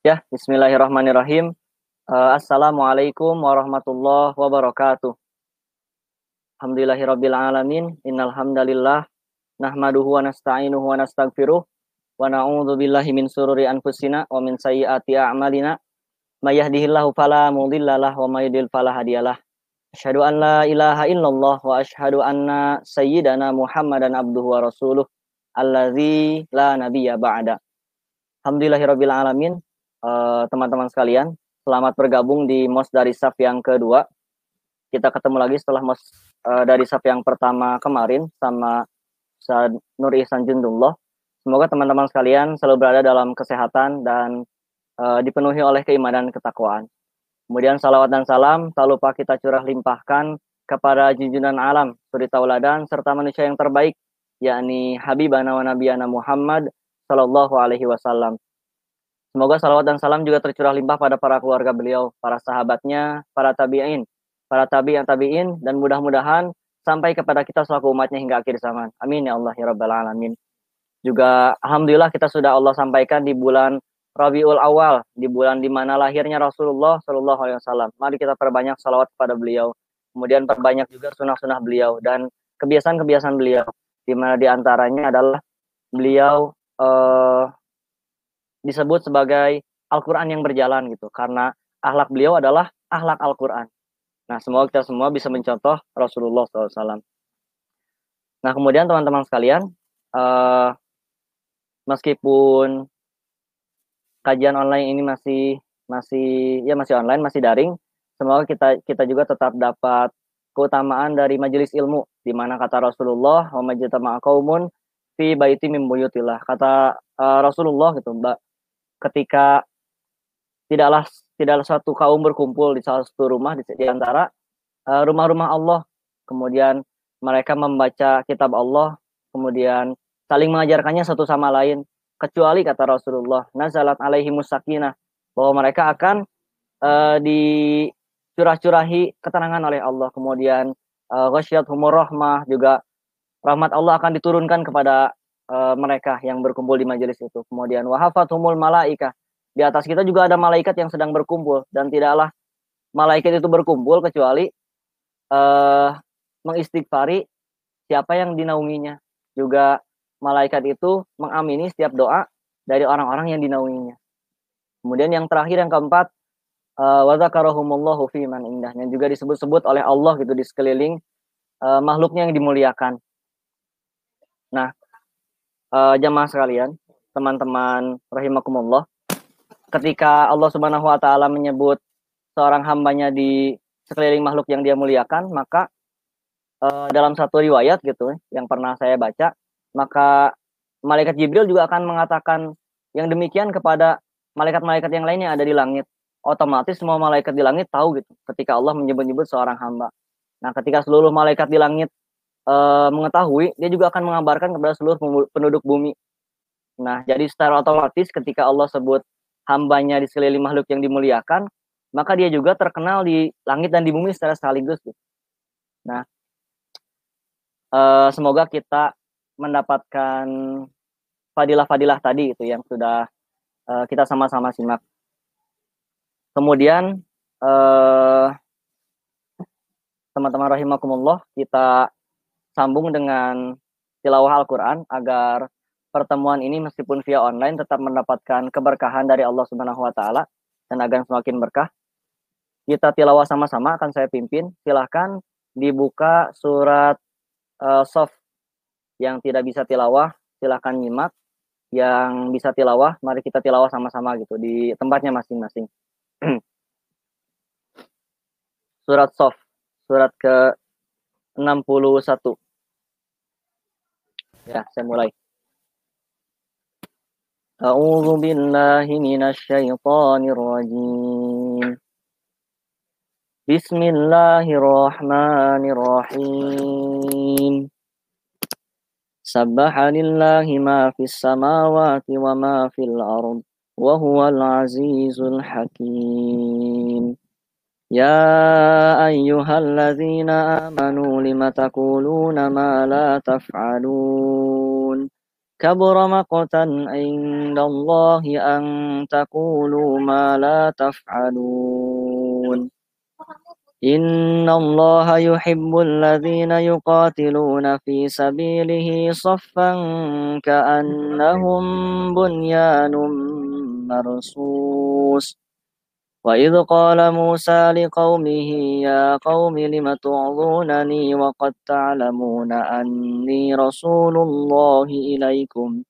Ya, bismillahirrahmanirrahim. Assalamualaikum warahmatullahi wabarakatuh. Alhamdulillahirabbil alamin. Innal hamdalillah nahmaduhu wa nasta'inuhu wa nastaghfiruh wa na'udzu billahi min sururi anfusina wa min sayyiati a'malina. May yahdihillahu fala mudhillalah wa may yudhlil fala hadiyalah. Asyhadu an la ilaha illallah wa asyhadu anna sayyidana Muhammadan abduhu wa rasuluh allazi la nabiyya ba'da. Alhamdulillahirabbil alamin. Teman-teman sekalian, selamat bergabung di MOS dari SAF yang kedua. Kita ketemu lagi setelah MOS dari SAF yang pertama kemarin sama Ustaz Nur Ihsan Jundullah. Semoga teman-teman sekalian selalu berada dalam kesehatan dan dipenuhi oleh keimanan dan ketakwaan. Kemudian salawat dan salam tak lupa kita curah limpahkan kepada junjungan alam, suri tauladan serta manusia yang terbaik, yakni Habibana wa Nabiyana Muhammad sallallahu alaihi wasallam. Semoga salawat dan salam juga tercurah limpah pada para keluarga beliau, para sahabatnya, para tabi'in, para tabi'in, dan mudah-mudahan sampai kepada kita selaku umatnya hingga akhir zaman. Amin ya Allah ya Rabbal Alamin. Juga Alhamdulillah kita sudah Allah sampaikan di bulan Rabiul Awal, di bulan di mana lahirnya Rasulullah Shallallahu Alaihi Wasallam. Mari kita perbanyak salawat kepada beliau, kemudian perbanyak juga sunah-sunah beliau dan kebiasaan-kebiasaan beliau, di mana diantaranya adalah beliau disebut sebagai Al-Quran yang berjalan gitu, karena akhlak beliau adalah akhlak Al-Quran. Nah, semoga kita semua bisa mencontoh Rasulullah SAW. Nah, kemudian teman-teman sekalian, meskipun kajian online ini masih online, masih daring, semoga kita juga tetap dapat keutamaan dari majelis ilmu, di mana kata Rasulullah, wa majtama'a qaumun fi baiti min buyutillah. Kata Rasulullah gitu, Mbak, ketika tidaklah suatu kaum berkumpul di salah satu rumah di antara rumah-rumah Allah, kemudian mereka membaca kitab Allah, kemudian saling mengajarkannya satu sama lain, kecuali kata Rasulullah, nazalat alaihimus sakinah, bahwa mereka akan dicurah-curahi ketenangan oleh Allah, kemudian ghasyiyatuhumur rahmah, juga rahmat Allah akan diturunkan kepada mereka yang berkumpul di majelis itu. Kemudian wahafathumul malaikah, di atas kita juga ada malaikat yang sedang berkumpul, dan tidaklah malaikat itu berkumpul kecuali mengistighfari siapa yang dinaunginya. Juga malaikat itu mengamini setiap doa dari orang-orang yang dinaunginya. Kemudian yang terakhir, yang keempat, wa dzakarahumullahu fi man indah, yang juga disebut-sebut oleh Allah gitu di sekeliling makhluknya yang dimuliakan. Nah, jamaah sekalian, teman-teman rahimakumullah, ketika Allah Subhanahu wa taala menyebut seorang hambanya di sekeliling makhluk yang dia muliakan, maka dalam satu riwayat gitu yang pernah saya baca, maka malaikat Jibril juga akan mengatakan yang demikian kepada malaikat-malaikat yang lainnya ada di langit. Otomatis semua malaikat di langit tahu gitu ketika Allah menyebut-nyebut seorang hamba. Nah, ketika seluruh malaikat di langit mengetahui, dia juga akan mengabarkan kepada seluruh penduduk bumi. Nah, jadi secara otomatis ketika Allah sebut hambanya di sekeliling makhluk yang dimuliakan, maka dia juga terkenal di langit dan di bumi secara sekaligus. Nah, semoga kita mendapatkan fadilah-fadilah tadi itu yang sudah kita sama-sama simak. Kemudian teman-teman rahimakumullah, kita sambung dengan tilawah Al-Quran agar pertemuan ini meskipun via online tetap mendapatkan keberkahan dari Allah Subhanahu wa taala dan agar semakin berkah. Kita tilawah sama-sama, akan saya pimpin. Silahkan dibuka surat Shaf. Yang tidak bisa tilawah silahkan nyimak. Yang bisa tilawah, mari kita tilawah sama-sama gitu di tempatnya masing-masing. Surat Shaf, surat ke-61. Ya, saya mulai. A'udzu billahi minasy syaithanir rajim. Bismillahirrahmanirrahim. Sabbaha lillahi ma fis samawati wa ma fil ard wa huwal azizul hakim. Ya ayyuhalladzina amanu lima taquluna ma la taf'alun. كبر مقتا عند الله أن تقولوا ما لا تفعلون إن الله يحب الذين يقاتلون في سبيله صفا كأنهم بنيان مرصوص وإذ قال موسى لقومه يا قوم لم تعظونني وقد تعلمون أني رسول الله إليكم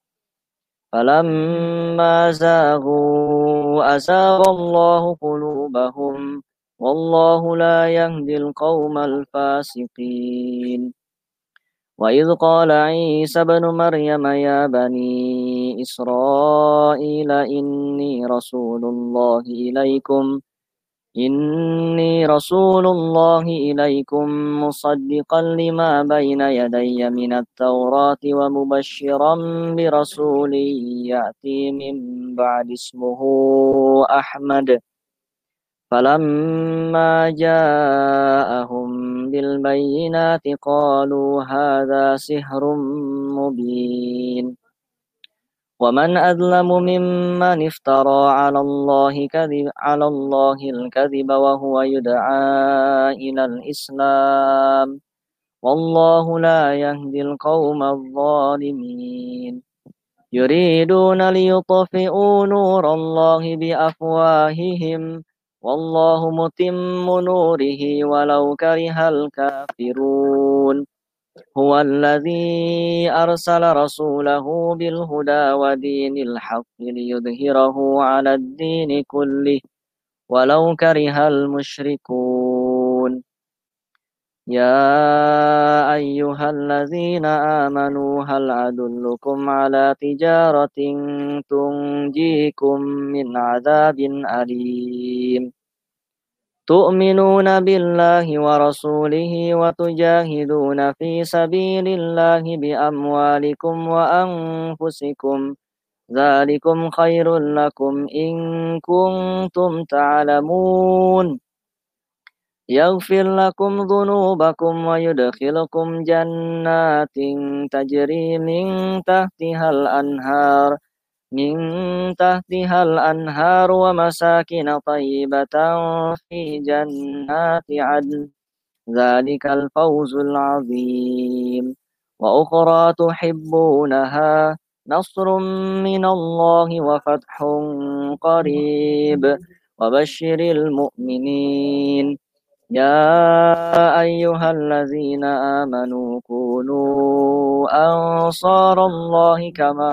فلما زاغوا أزاغ الله قلوبهم والله لا يهدي القوم الفاسقين وإذ قال عيسى ابن مريم يا بني إسرائيل إني رسول الله إليكم مصدقا لما بين يدي من التوراة ومبشرا برسول يأتي من بعد اسمه أحمد فلما جاءهم بالبينات قالوا هذا سحر مبين ومن أظلم ممن افترى على الله الكذب وهو يدعى إلى الإسلام والله لا يهدي القوم الظالمين يريدون ليطفئوا نور الله بأفواههم والله متم نوره ولو كره الكافرون هو الذي أرسل رسوله بالهدى ودين الحق ليظهره على الدين كله ولو كره المشركون يا أيها الذين آمنوا هل أدلكم على تجارة تنجيكم من عذاب أليم تؤمنون بالله ورسوله وتجاهدون في سبيل الله بأموالكم وأنفسكم ذلكم خير لكم إن كنتم تعلمون يغفر لكم ذنوبكم ويدخلكم جنات تجري من تحتها الأنهار ومساكن طيبة في جنات عدن ذلك الفوز العظيم وأخرى تحبونها نصر من الله وفتح قريب وبشر المؤمنين يا أيها الذين آمنوا كونوا أنصار الله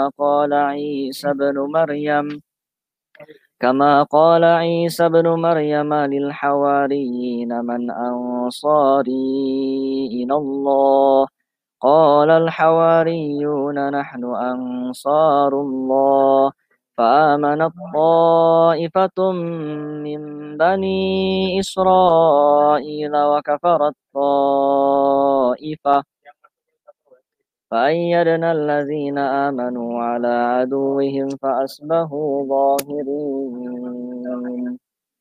كما قال عيسى بن مريم للحواريين من أنصاري إلى الله قال الحواريون نحن أنصار الله فآمنت طائفة من بني إسرائيل وكفرت طائفة فأيدنا الذين آمنوا على عدوهم فأصبحوا ظاهرين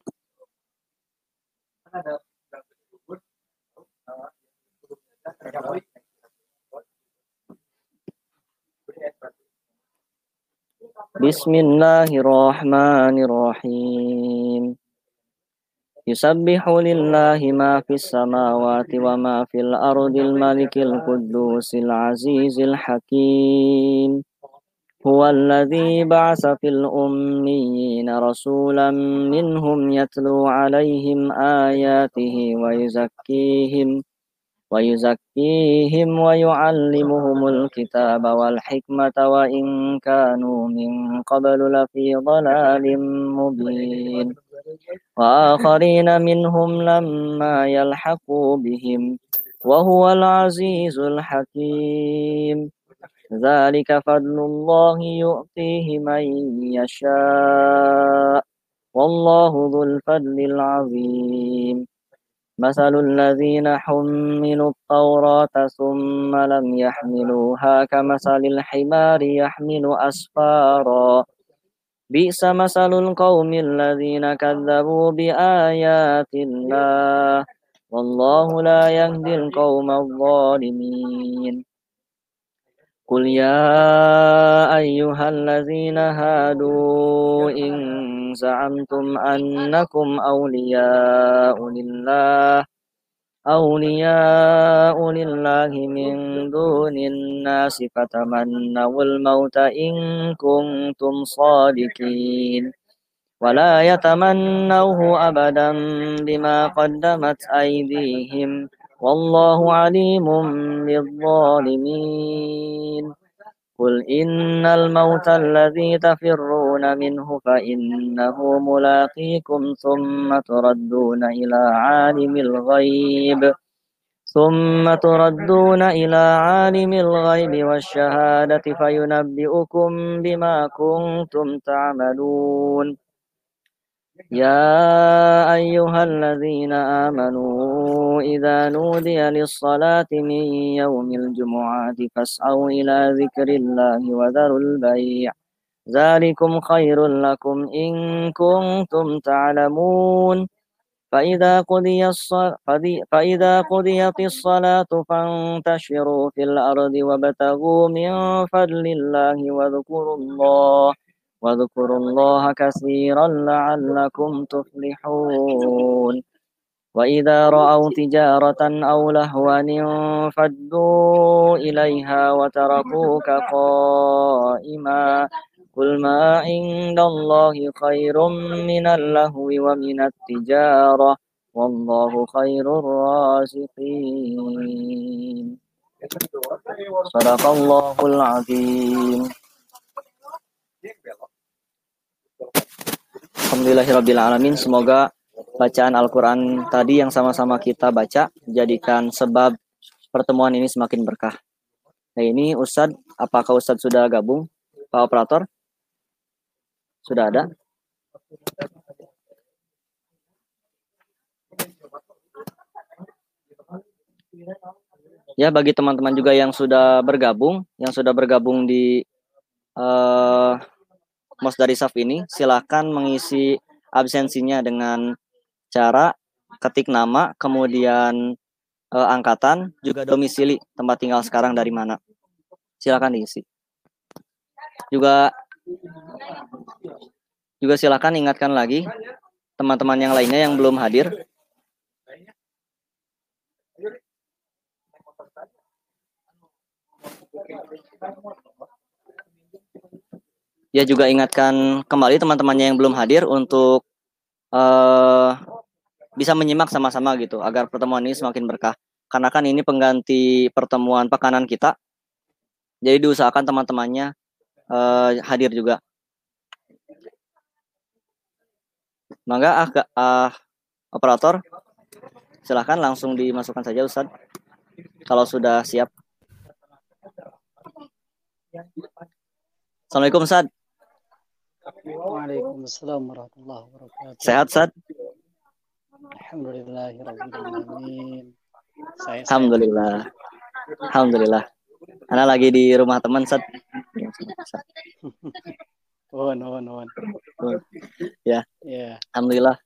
بسم الله الرحمن الرحيم يسبح لله ما في السماوات وما في الأرض الملك القدوس العزيز الحكيم هو الذي بعث في الأميين رسولا منهم يتلو عليهم آياته ويزكيهم ويعلمهم الكتاب والحكمة وإن كانوا من قبل لفي ضلال مبين وآخرين منهم لما يلحقوا بهم وهو العزيز الحكيم ذلك فضل الله يؤتيه من يشاء والله ذو الفضل العظيم مثل الذين حملوا التوراة ثم لم يحملوها كمثل الحمار يحمل أسفارا بئس مثل القوم الذين كذبوا بآيات الله والله لا يهدي القوم الظالمين قل يا أيها الذين هادوا إن زعمتم أنكم أولياء لله من دون الناس فتمنوا الموت إن كنتم صادقين ولا يتمنوه أبدا بما قدمت أيديهم والله عليم بالظالمين قل إن الموت الذي تفرون منه فإنه ملاقيكم ثم تردون إلى عالم الغيب والشهادة فينبئكم بما كنتم تعملون يا أيها الذين آمنوا إذا نودي للصلاة من يوم الجمعة فاسعوا إلى ذكر الله وذروا البيع ذلكم خير لكم إن كنتم تعلمون فإذا قضيت الصلاة فانتشروا في الأرض وابتغوا من فضل الله واذكروا الله كثيرا لعلكم تفلحون وإذا رأوا تجارة أو لهوا انفضوا إليها وتركوك قائما قل ما عند الله خير من اللهو ومن التجارة والله خير الرازقين صدق الله العظيم. Alhamdulillahirrabbilalamin. Semoga bacaan Al-Quran tadi yang sama-sama kita baca jadikan sebab pertemuan ini semakin berkah. Nah ini Ustadz, apakah Ustadz sudah gabung? Pak Operator? Sudah ada? Ya, bagi teman-teman juga yang sudah bergabung di Mosdari Saf ini, silakan mengisi absensinya dengan cara ketik nama, kemudian angkatan, juga domisili, tempat tinggal sekarang dari mana. Silakan diisi. Juga silakan ingatkan lagi teman-teman yang lainnya yang belum hadir. Ya, juga ingatkan kembali teman-temannya yang belum hadir untuk bisa menyimak sama-sama gitu, agar pertemuan ini semakin berkah. Karena kan ini pengganti pertemuan pekanan kita, jadi diusahakan teman-temannya hadir juga. Mangga operator, silahkan langsung dimasukkan saja Ustadz, kalau sudah siap. Assalamualaikum Ustadz. Waalaikumsalam warahmatullahi wabarakatuh. Sehat Ustadz? Alhamdulillahirrabbilalamin. Alhamdulillah. Alhamdulillah. Ana lagi di rumah teman Ustadz. Nuhun. Ya. Yeah. Alhamdulillah.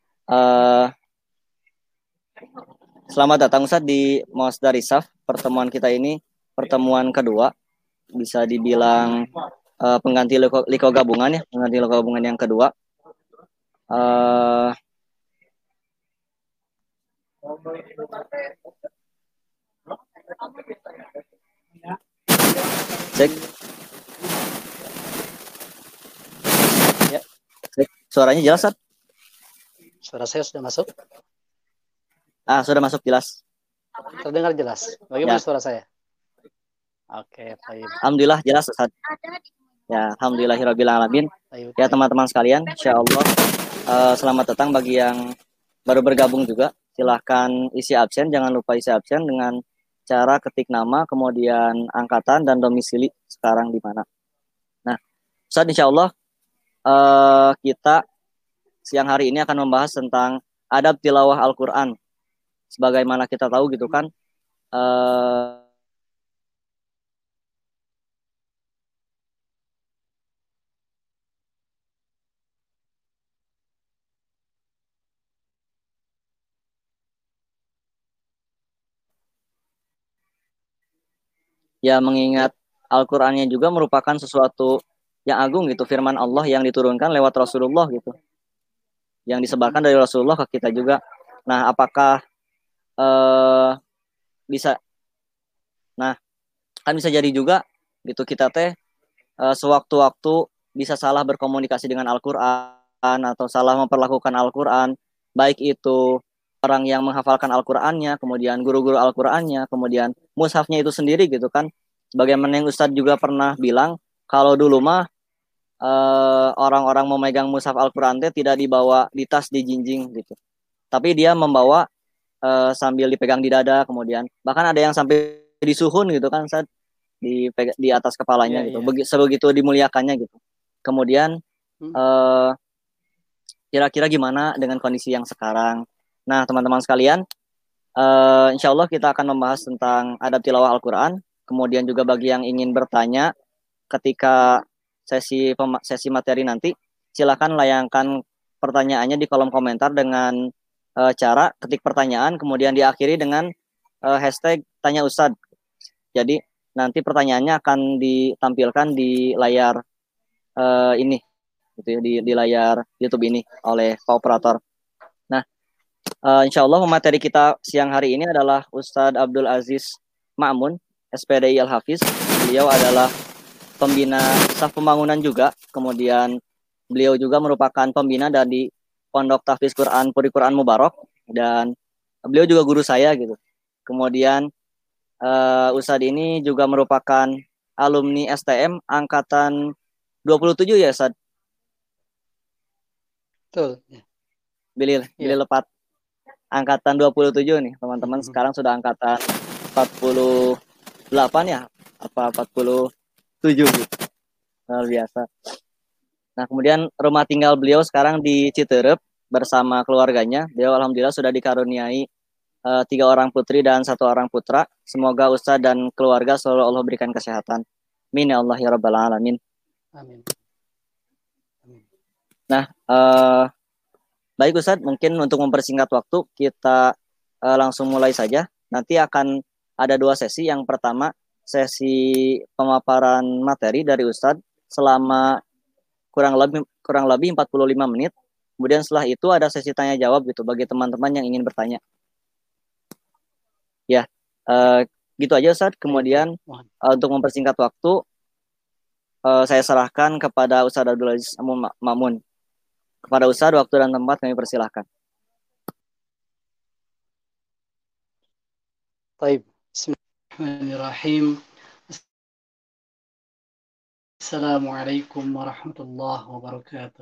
Selamat datang Ustadz di Mosdari Saf. Pertemuan kita ini pertemuan kedua, bisa dibilang pengganti liko gabungan ya, pengganti liko gabungan yang kedua. Cek. Ya. Cek. Suaranya jelas, Ustadz? Suara saya sudah masuk? Sudah masuk jelas. Terdengar jelas. Bagaimana suara saya? Oke, baik. Alhamdulillah jelas, Ustadz. Ya, alhamdulillahirrabbilalamin. Ya, teman-teman sekalian, insyaallah selamat datang bagi yang baru bergabung juga. Silahkan isi absen, jangan lupa isi absen dengan cara ketik nama, kemudian angkatan dan domisili sekarang di mana. Nah, Ustadz, insyaallah kita siang hari ini akan membahas tentang adab tilawah Al-Quran. Sebagaimana kita tahu gitu kan, ya mengingat Al-Qur'annya juga merupakan sesuatu yang agung gitu, firman Allah yang diturunkan lewat Rasulullah gitu, yang disebarkan dari Rasulullah ke kita juga. Nah, apakah eh, bisa, nah kan bisa jadi juga gitu kita teh sewaktu-waktu bisa salah berkomunikasi dengan Al-Qur'an atau salah memperlakukan Al-Qur'an, baik itu orang yang menghafalkan Al-Qur'annya, kemudian guru-guru Al-Qur'annya, kemudian mushafnya itu sendiri gitu kan. Sebagaimana yang Ustadz juga pernah bilang, kalau dulu mah orang-orang memegang mushaf Al-Qur'an teh tidak dibawa di tas di jinjing gitu. Tapi dia membawa sambil dipegang di dada, kemudian bahkan ada yang sampai disuhun gitu kan, Ustadz, di atas kepalanya gitu. Sebegitu dimuliakannya gitu. Kemudian eh, kira-kira gimana dengan kondisi yang sekarang? Nah, teman-teman sekalian, insya Allah kita akan membahas tentang adab tilawah Al-Quran. Kemudian juga bagi yang ingin bertanya ketika sesi materi nanti, silakan layangkan pertanyaannya di kolom komentar dengan cara ketik pertanyaan, kemudian diakhiri dengan hashtag tanya Ustadz. Jadi nanti pertanyaannya akan ditampilkan di layar ini, gitu ya, di layar YouTube ini oleh Pak Operator. Nah, insya Allah materi kita siang hari ini adalah Ustadz Abdul Aziz Ma'mun, SPDI Al-Hafiz. Beliau adalah pembina staf pembangunan juga, kemudian beliau juga merupakan pembina dari Pondok Tahfiz Quran Puri Quran Mubarak, dan beliau juga guru saya gitu. Kemudian Ustadz ini juga merupakan alumni STM angkatan 27 ya, Ustadz? Betul. Bilil lepat. Angkatan 27 nih, teman-teman. Sekarang sudah angkatan 48 ya? Apa 47 gitu. Luar biasa. Nah, kemudian rumah tinggal beliau sekarang di Citerep bersama keluarganya. Beliau alhamdulillah sudah dikaruniai 3 orang putri dan 1 orang putra. Semoga Ustadz dan keluarga selalu Allah berikan kesehatan. Amin ya Allah ya Rabbal Alamin. Amin. Nah, baik Ustadz, mungkin untuk mempersingkat waktu kita langsung mulai saja. Nanti akan ada 2 sesi. Yang pertama sesi pemaparan materi dari Ustadz selama kurang lebih 45 menit. Kemudian setelah itu ada sesi tanya jawab gitu bagi teman-teman yang ingin bertanya. Ya, gitu aja Ustadz. Kemudian untuk mempersingkat waktu, saya serahkan kepada Ustadz Abdul Aziz Ma'mun. Kepada Ustadz, waktu dan tempat kami persilahkan. Baik, bismillahirrahmanirrahim. Assalamualaikum warahmatullahi wabarakatuh.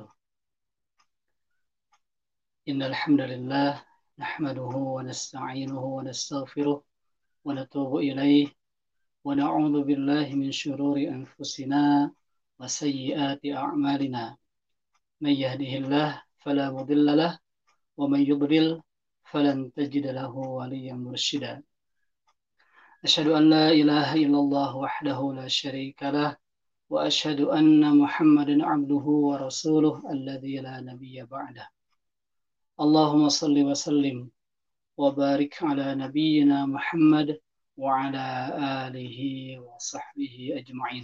Innal hamdalillah nahmaduhu wa nasta'inuhu wa nastaghfiruh wa natubu ilayh wa na'udzu billahi min syururi anfusina wa sayyiati a'malina. Man yahdihillah fala mudilla lah wa man yudlil falan tajid lahu waliyyan mursyida. Asyhadu an la ilaha illallah wahdahu la syarika lah wa asyhadu anna Muhammadan abduhu wa rasuluh alladzi la nabiyya ba'dah. Allahumma salli wa sallim wa barik ala nabiyyina Muhammad wa ala alihi wa sahbihi ajma'in.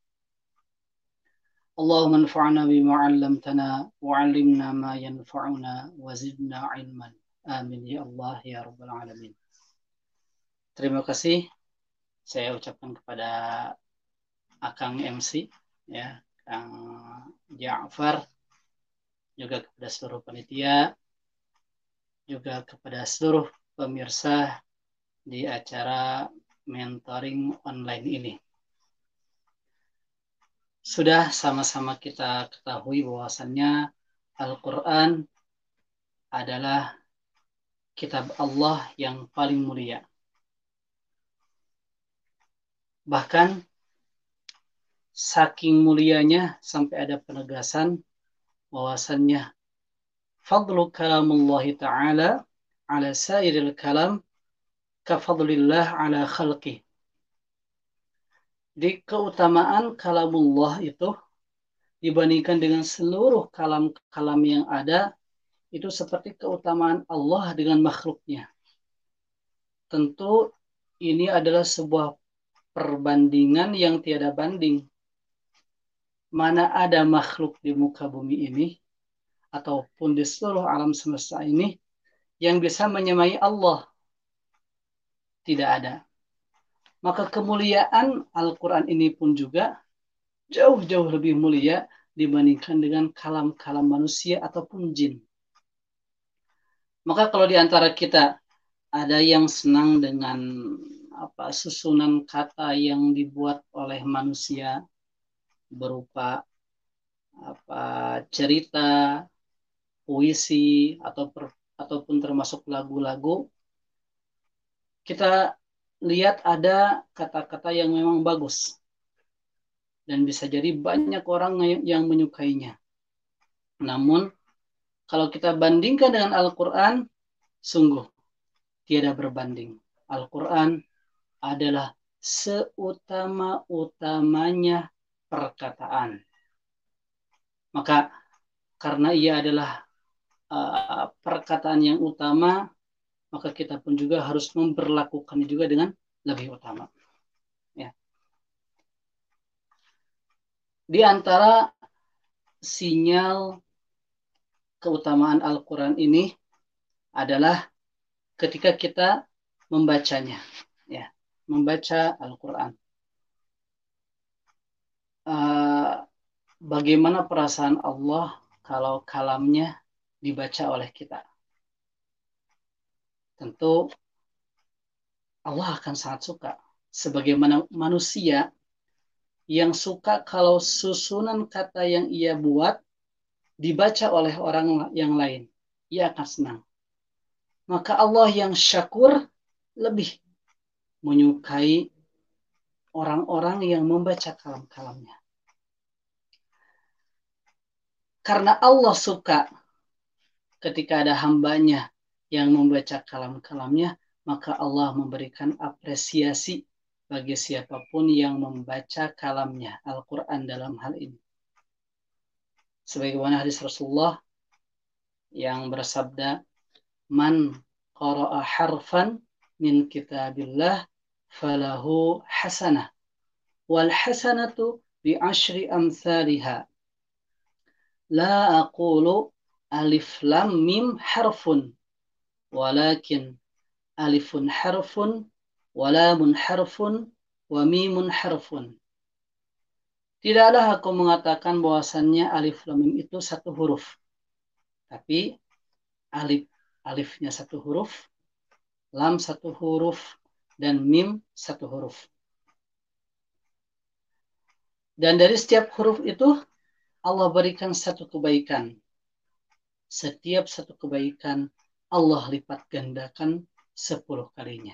Allahumma anfa'na bima 'allamtana wa 'allimna ma yanfa'una wa zidna 'ilman. Amin ya Allah ya rabbal alamin. Terima kasih saya ucapkan kepada Akang MC ya, Kang Ja'far, juga kepada seluruh panitia, juga kepada seluruh pemirsa di acara mentoring online ini. Sudah sama-sama kita ketahui bahwasannya Al-Quran adalah kitab Allah yang paling mulia. Bahkan saking mulianya sampai ada penegasan bahwasannya fadlu kalamullahi ta'ala ala sairil kalam kafadlillah ala khalqih. Di keutamaan kalamullah itu dibandingkan dengan seluruh kalam-kalam yang ada, itu seperti keutamaan Allah dengan makhluknya. Tentu ini adalah sebuah perbandingan yang tiada banding. Mana ada makhluk di muka bumi ini ataupun di seluruh alam semesta ini yang bisa menyamai Allah? Tidak ada. Maka kemuliaan Al-Quran ini pun juga jauh-jauh lebih mulia dibandingkan dengan kalam-kalam manusia ataupun jin. Maka kalau di antara kita ada yang senang dengan susunan kata yang dibuat oleh manusia berupa cerita, puisi ataupun termasuk lagu-lagu, kita lihat ada kata-kata yang memang bagus dan bisa jadi banyak orang yang menyukainya. Namun kalau kita bandingkan dengan Al-Quran, sungguh tiada berbanding. Al-Quran adalah seutama-utamanya perkataan. Maka karena ia adalah perkataan yang utama, maka kita pun juga harus memperlakukannya juga dengan lebih utama. Ya. Di antara sinyal keutamaan Al-Quran ini adalah ketika kita membacanya, ya, membaca Al-Quran. Bagaimana perasaan Allah kalau kalamnya dibaca oleh kita? Tentu Allah akan sangat suka. Sebagaimana manusia yang suka kalau susunan kata yang ia buat dibaca oleh orang yang lain, ia akan senang. Maka Allah yang syakur lebih menyukai orang-orang yang membaca kalam-kalamnya. Karena Allah suka ketika ada hambanya yang membaca kalam-kalamnya, maka Allah memberikan apresiasi bagi siapapun yang membaca kalamnya, Al-Quran dalam hal ini. Sebagaimana hadis Rasulullah yang bersabda, Man qara'a harfan min kitabillah falahu hasanah wal hasanatu bi asyri amthaliha la aqulu alif lam mim harfun walakin alifun harfun wa lamun harfun wa mimun harfun. Tidaklah aku mengatakan bahwasannya alif lam mim itu satu huruf, tapi alifnya satu huruf, lam satu huruf, dan mim satu huruf. Dan dari setiap huruf itu Allah berikan satu kebaikan. Setiap satu kebaikan Allah lipat gandakan 10 kalinya.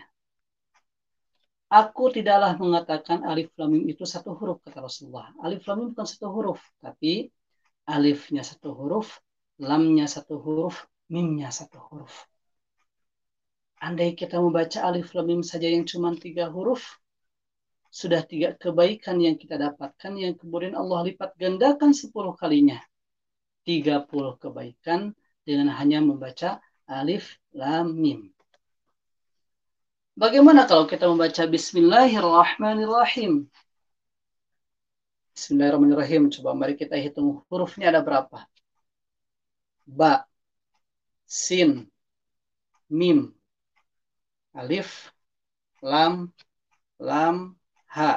Aku tidaklah mengatakan alif lam mim itu satu huruf, kata Rasulullah. Alif lam mim bukan satu huruf, tapi alifnya satu huruf, lamnya satu huruf, mimnya satu huruf. Andai kita membaca alif lam mim saja yang cuma 3 huruf, sudah 3 kebaikan yang kita dapatkan, yang kemudian Allah lipat gandakan 10 kalinya. 30 kebaikan dengan hanya membaca alif lam mim. Bagaimana kalau kita membaca Bismillahirrahmanirrahim? Bismillahirrahmanirrahim. Coba mari kita hitung hurufnya ada berapa. Ba, sin, mim, alif, lam, ha.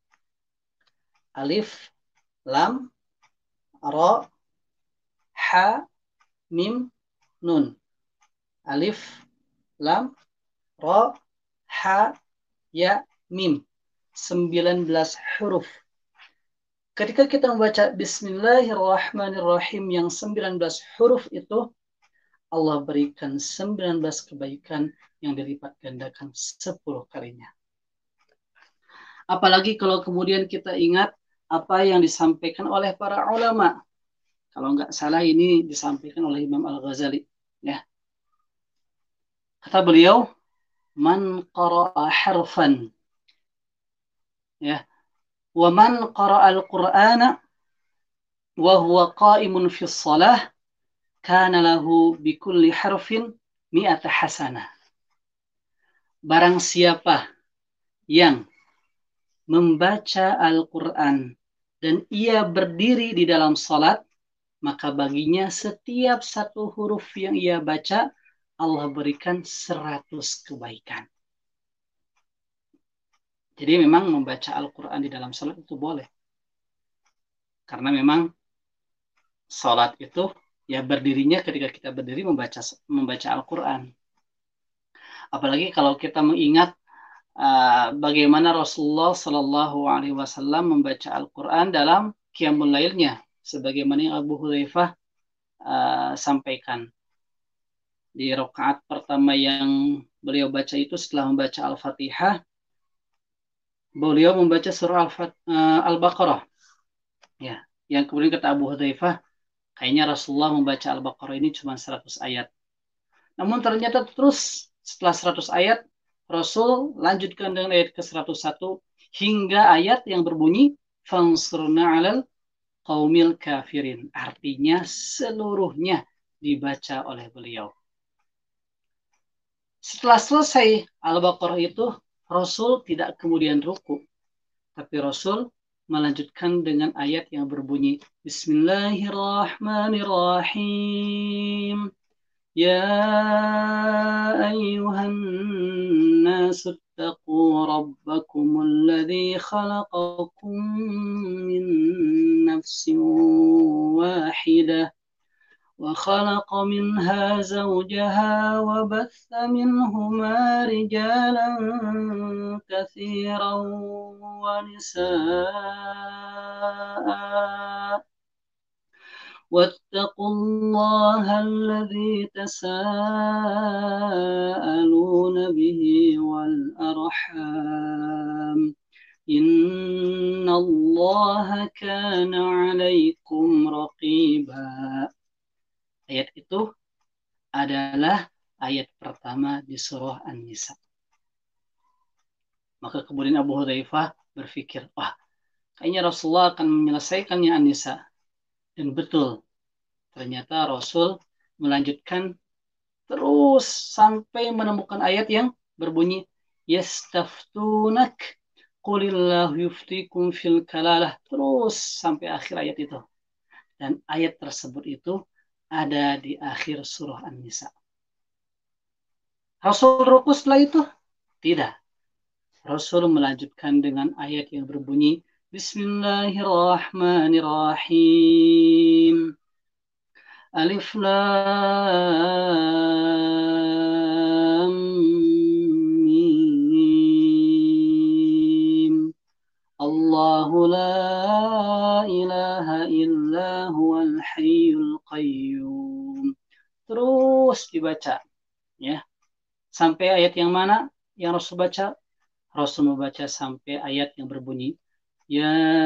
Alif, lam, ra, ha, mim, nun. Alif, lam, ra, ha, ya, mim. 19 huruf. Ketika kita membaca Bismillahirrahmanirrahim yang 19 huruf itu, Allah berikan 19 kebaikan yang dilipat gandakan 10 kalinya. Apalagi kalau kemudian kita ingat apa yang disampaikan oleh para ulama. Kalau nggak salah ini disampaikan oleh Imam Al-Ghazali. Ya. Kata beliau, Man qara'a harfan. Ya. Wa man qara'a al-Qur'ana wa huwa qa'imun fi shalah kana lahu bi kulli harfin mi'ata hasanah. Barang siapa yang membaca Al-Quran dan ia berdiri di dalam salat, maka baginya setiap satu huruf yang ia baca, Allah berikan 100 kebaikan. Jadi memang membaca Al-Quran di dalam salat itu boleh. Karena memang salat itu ya berdirinya ketika kita berdiri membaca Al-Quran. Apalagi kalau kita mengingat bagaimana Rasulullah Shallallahu Alaihi Wasallam membaca Al-Quran dalam Qiyamul Lailnya, sebagaimana yang Abu Hudzaifah sampaikan. Di rakaat pertama yang beliau baca itu setelah membaca Al-Fatihah, beliau membaca surah Al-Baqarah. Ya, yang kemudian kata Abu Hudzaifah, kayaknya Rasulullah membaca Al-Baqarah ini cuma 100 ayat. Namun ternyata terus setelah 100 ayat, Rasul lanjutkan dengan ayat ke-101 hingga ayat yang berbunyi fansurna 'alal qaumil kafirin. Artinya seluruhnya dibaca oleh beliau. Setelah selesai Al-Baqarah itu, Rasul tidak kemudian ruku, tapi Rasul melanjutkan dengan ayat yang berbunyi Bismillahirrahmanirrahim. Ya ayyuhan nasu ittaqu rabbakumul ladzi khalaqakum min nafsin wahidah wa khalaqa minha zawjaha wa batha minhuma rijalan katsiran wa nisaa واتقوا الله الذي تساءلون به والأرحام إن الله كان عليكم رقيبا. Ayat itu adalah ayat pertama di surah An-Nisa. Maka kemudian Abu Hudzaifah berpikir, wah, kayaknya Rasulullah akan menyelesaikannya An-Nisa. Dan betul, ternyata Rasul melanjutkan terus sampai menemukan ayat yang berbunyi yastaftunak qulillahu yuftikum fil kalalah, terus sampai akhir ayat itu. Dan ayat tersebut itu ada di akhir surah An-Nisa. Rasul ruku setelah itu? Tidak. Rasul melanjutkan dengan ayat yang berbunyi Bismillahirrahmanirrahim. Alif Lam Mim. Allahu la ilaha illa huwal hayyul qayyum. Terus dibaca, ya. Sampai ayat yang mana yang Rasul baca? Rasul membaca sampai ayat yang berbunyi Ya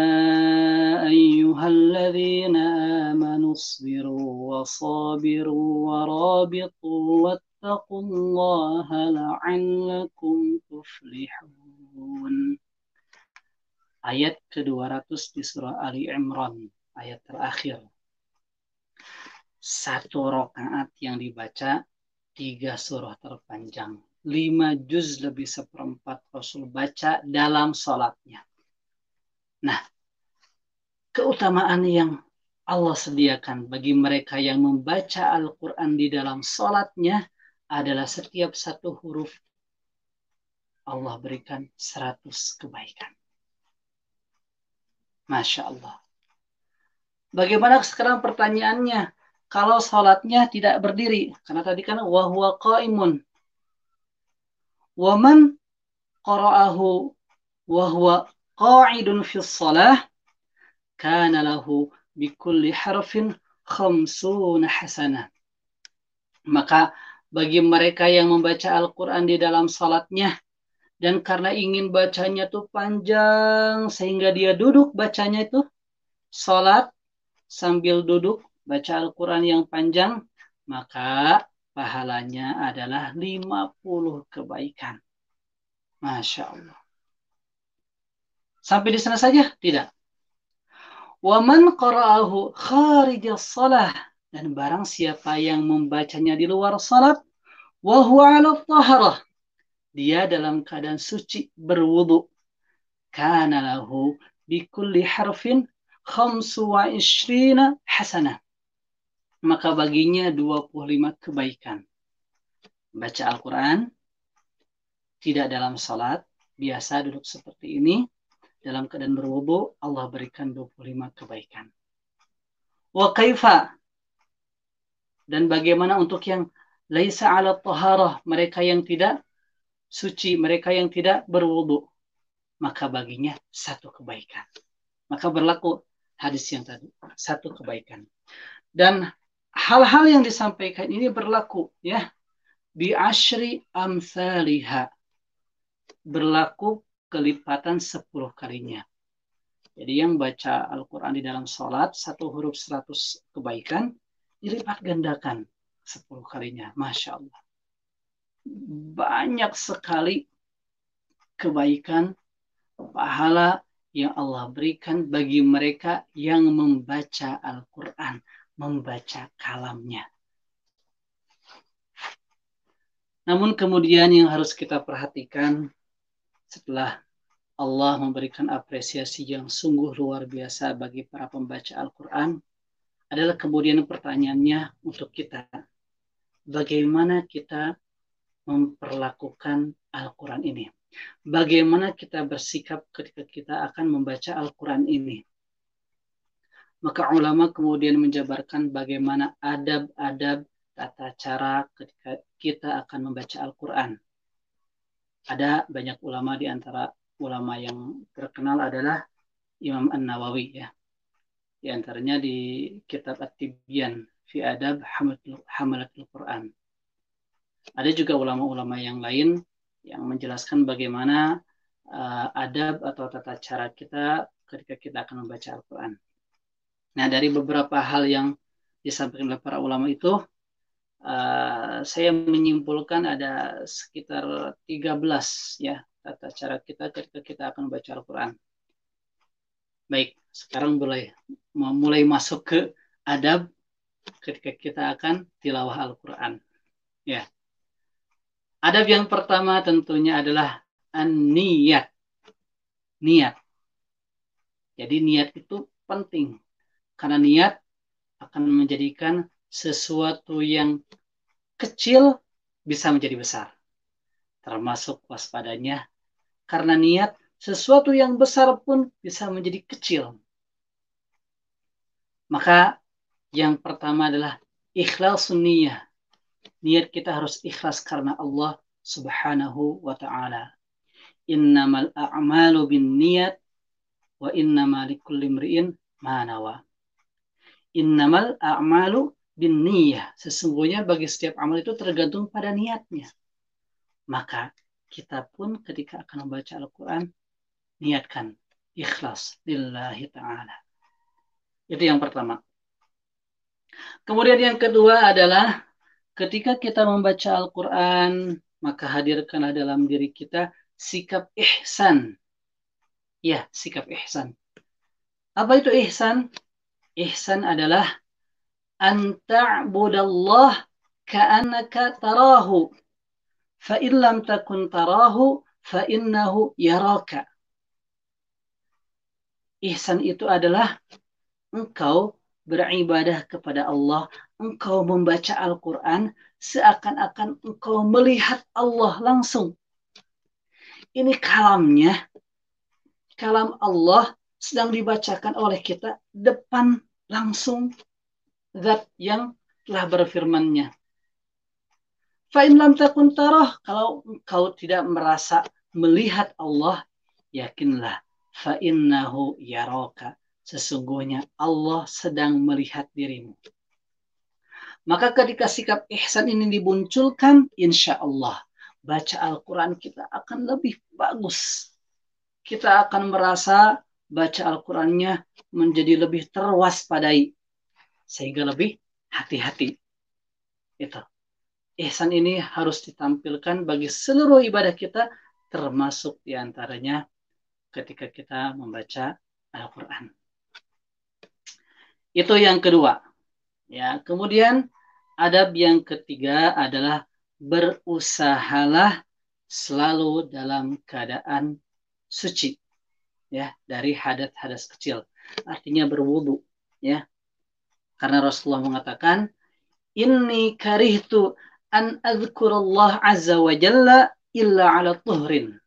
ayyuhalladzina amanu isbiru wa sabiru wa rabitu wattaqullaha la'allakum tuflihun. Ayat ke-200 di surah Ali Imran, ayat terakhir. Satu rakaat yang dibaca 3 surah terpanjang. 5 juz lebih seperempat Rasul baca dalam sholatnya. Nah, keutamaan yang Allah sediakan bagi mereka yang membaca Al-Quran di dalam sholatnya adalah setiap satu huruf Allah berikan 100 kebaikan. Masya Allah. Bagaimana sekarang pertanyaannya? Kalau sholatnya tidak berdiri, karena tadi kan wahuwa qaimun. Waman qara'ahu wahuwa qa'idun fis shalah kana lahu bikulli harfin 50 hasanah. Maka bagi mereka yang membaca Al-Quran di dalam salatnya dan karena ingin bacanya tuh panjang sehingga dia duduk bacanya itu salat sambil duduk baca Al-Quran yang panjang, maka pahalanya adalah 50 kebaikan. Masya Allah. Sampai di sana saja? Tidak. Waman qara'ahu kharijas salah, dan barang siapa yang membacanya di luar salat, wa huwa 'ala taharah, dia dalam keadaan suci berwudu, kana lahu bikulli harfin 25 hasanah. Maka baginya 25 kebaikan. Baca Al-Quran, tidak dalam salat, biasa duduk seperti ini, dalam keadaan berwudu, Allah berikan 25 kebaikan. Wa kaifa, dan bagaimana untuk yang laisa ala taharah, mereka yang tidak suci, mereka yang tidak berwudu, maka baginya 1 kebaikan. Maka berlaku hadis yang tadi, 1 kebaikan. Dan hal-hal yang disampaikan ini berlaku ya bi asyri amsalihha, berlaku kelipatan 10 kalinya. Jadi yang baca Al-Quran di dalam sholat 1 huruf 100 kebaikan, dilipat gandakan 10 kalinya. Masya Allah. Banyak sekali kebaikan, pahala yang Allah berikan bagi mereka yang membaca Al-Quran, membaca kalamnya. Namun kemudian yang harus kita perhatikan setelah Allah memberikan apresiasi yang sungguh luar biasa bagi para pembaca Al-Quran adalah kemudian pertanyaannya untuk kita. Bagaimana kita memperlakukan Al-Quran ini? Bagaimana kita bersikap ketika kita akan membaca Al-Quran ini? Maka ulama kemudian menjabarkan bagaimana adab-adab tata cara ketika kita akan membaca Al-Quran. Ada banyak ulama, di antara ulama yang terkenal adalah Imam An-Nawawi ya. Di antaranya di kitab At-Tibyan fi Adab Hamalatul Quran. Ada juga ulama-ulama yang lain yang menjelaskan bagaimana adab atau tata cara kita ketika kita akan membaca Al-Quran. Nah, dari beberapa hal yang disampaikan oleh para ulama itu, saya menyimpulkan ada sekitar 13 ya tata cara kita ketika kita akan membaca Al-Quran. Baik, sekarang mulai masuk ke adab ketika kita akan tilawah Al-Quran. Ya. Adab yang pertama tentunya adalah an-niyat. Niat. Jadi niat itu penting. Karena niat akan menjadikan sesuatu yang kecil bisa menjadi besar. Termasuk waspadanya. Karena niat, sesuatu yang besar pun bisa menjadi kecil. Maka yang pertama adalah ikhlasun niyah. Niat kita harus ikhlas karena Allah Subhanahu wa ta'ala. Innamal a'malu bin niyat wa innama likulli imri'in ma nawa. Innamal a'malu bin niyah. Sesungguhnya bagi setiap amal itu tergantung pada niatnya. Maka kita pun ketika akan membaca Al-Quran, niatkan ikhlas lillahi ta'ala. Itu yang pertama. Kemudian yang kedua adalah ketika kita membaca Al-Quran, maka hadirkanlah dalam diri kita sikap ihsan. Ya, sikap ihsan. Apa itu ihsan? Ihsan adalah an ta'budallah ka'annaka tarahu. Fa'in lam takun tarahu, fa'innahu yaraka. Ihsan itu adalah engkau beribadah kepada Allah, engkau membaca Al-Quran seakan-akan engkau melihat Allah langsung. Ini kalamnya, kalam Allah sedang dibacakan oleh kita depan langsung zat yang telah berfirmannya. Fa'in lam takun tarah, kalau engkau tidak merasa melihat Allah, yakinlah fa'innahu yaraka. Sesungguhnya Allah sedang melihat dirimu. Maka ketika sikap ihsan ini dimunculkan, insya Allah baca Al-Quran kita akan lebih bagus. Kita akan merasa baca Al-Qurannya menjadi lebih terwaspadai. Sehingga lebih hati-hati. Itu. Ihsan ini harus ditampilkan bagi seluruh ibadah kita, termasuk diantaranya ketika kita membaca Al-Quran. Itu yang kedua. Ya, kemudian adab yang ketiga adalah berusahalah selalu dalam keadaan suci. ya dari hadas kecil. Artinya berwudu, ya. Karena Rasulullah mengatakan, "Inni karihtu an adzkurallah azza wa jalla illa ala tuhrin."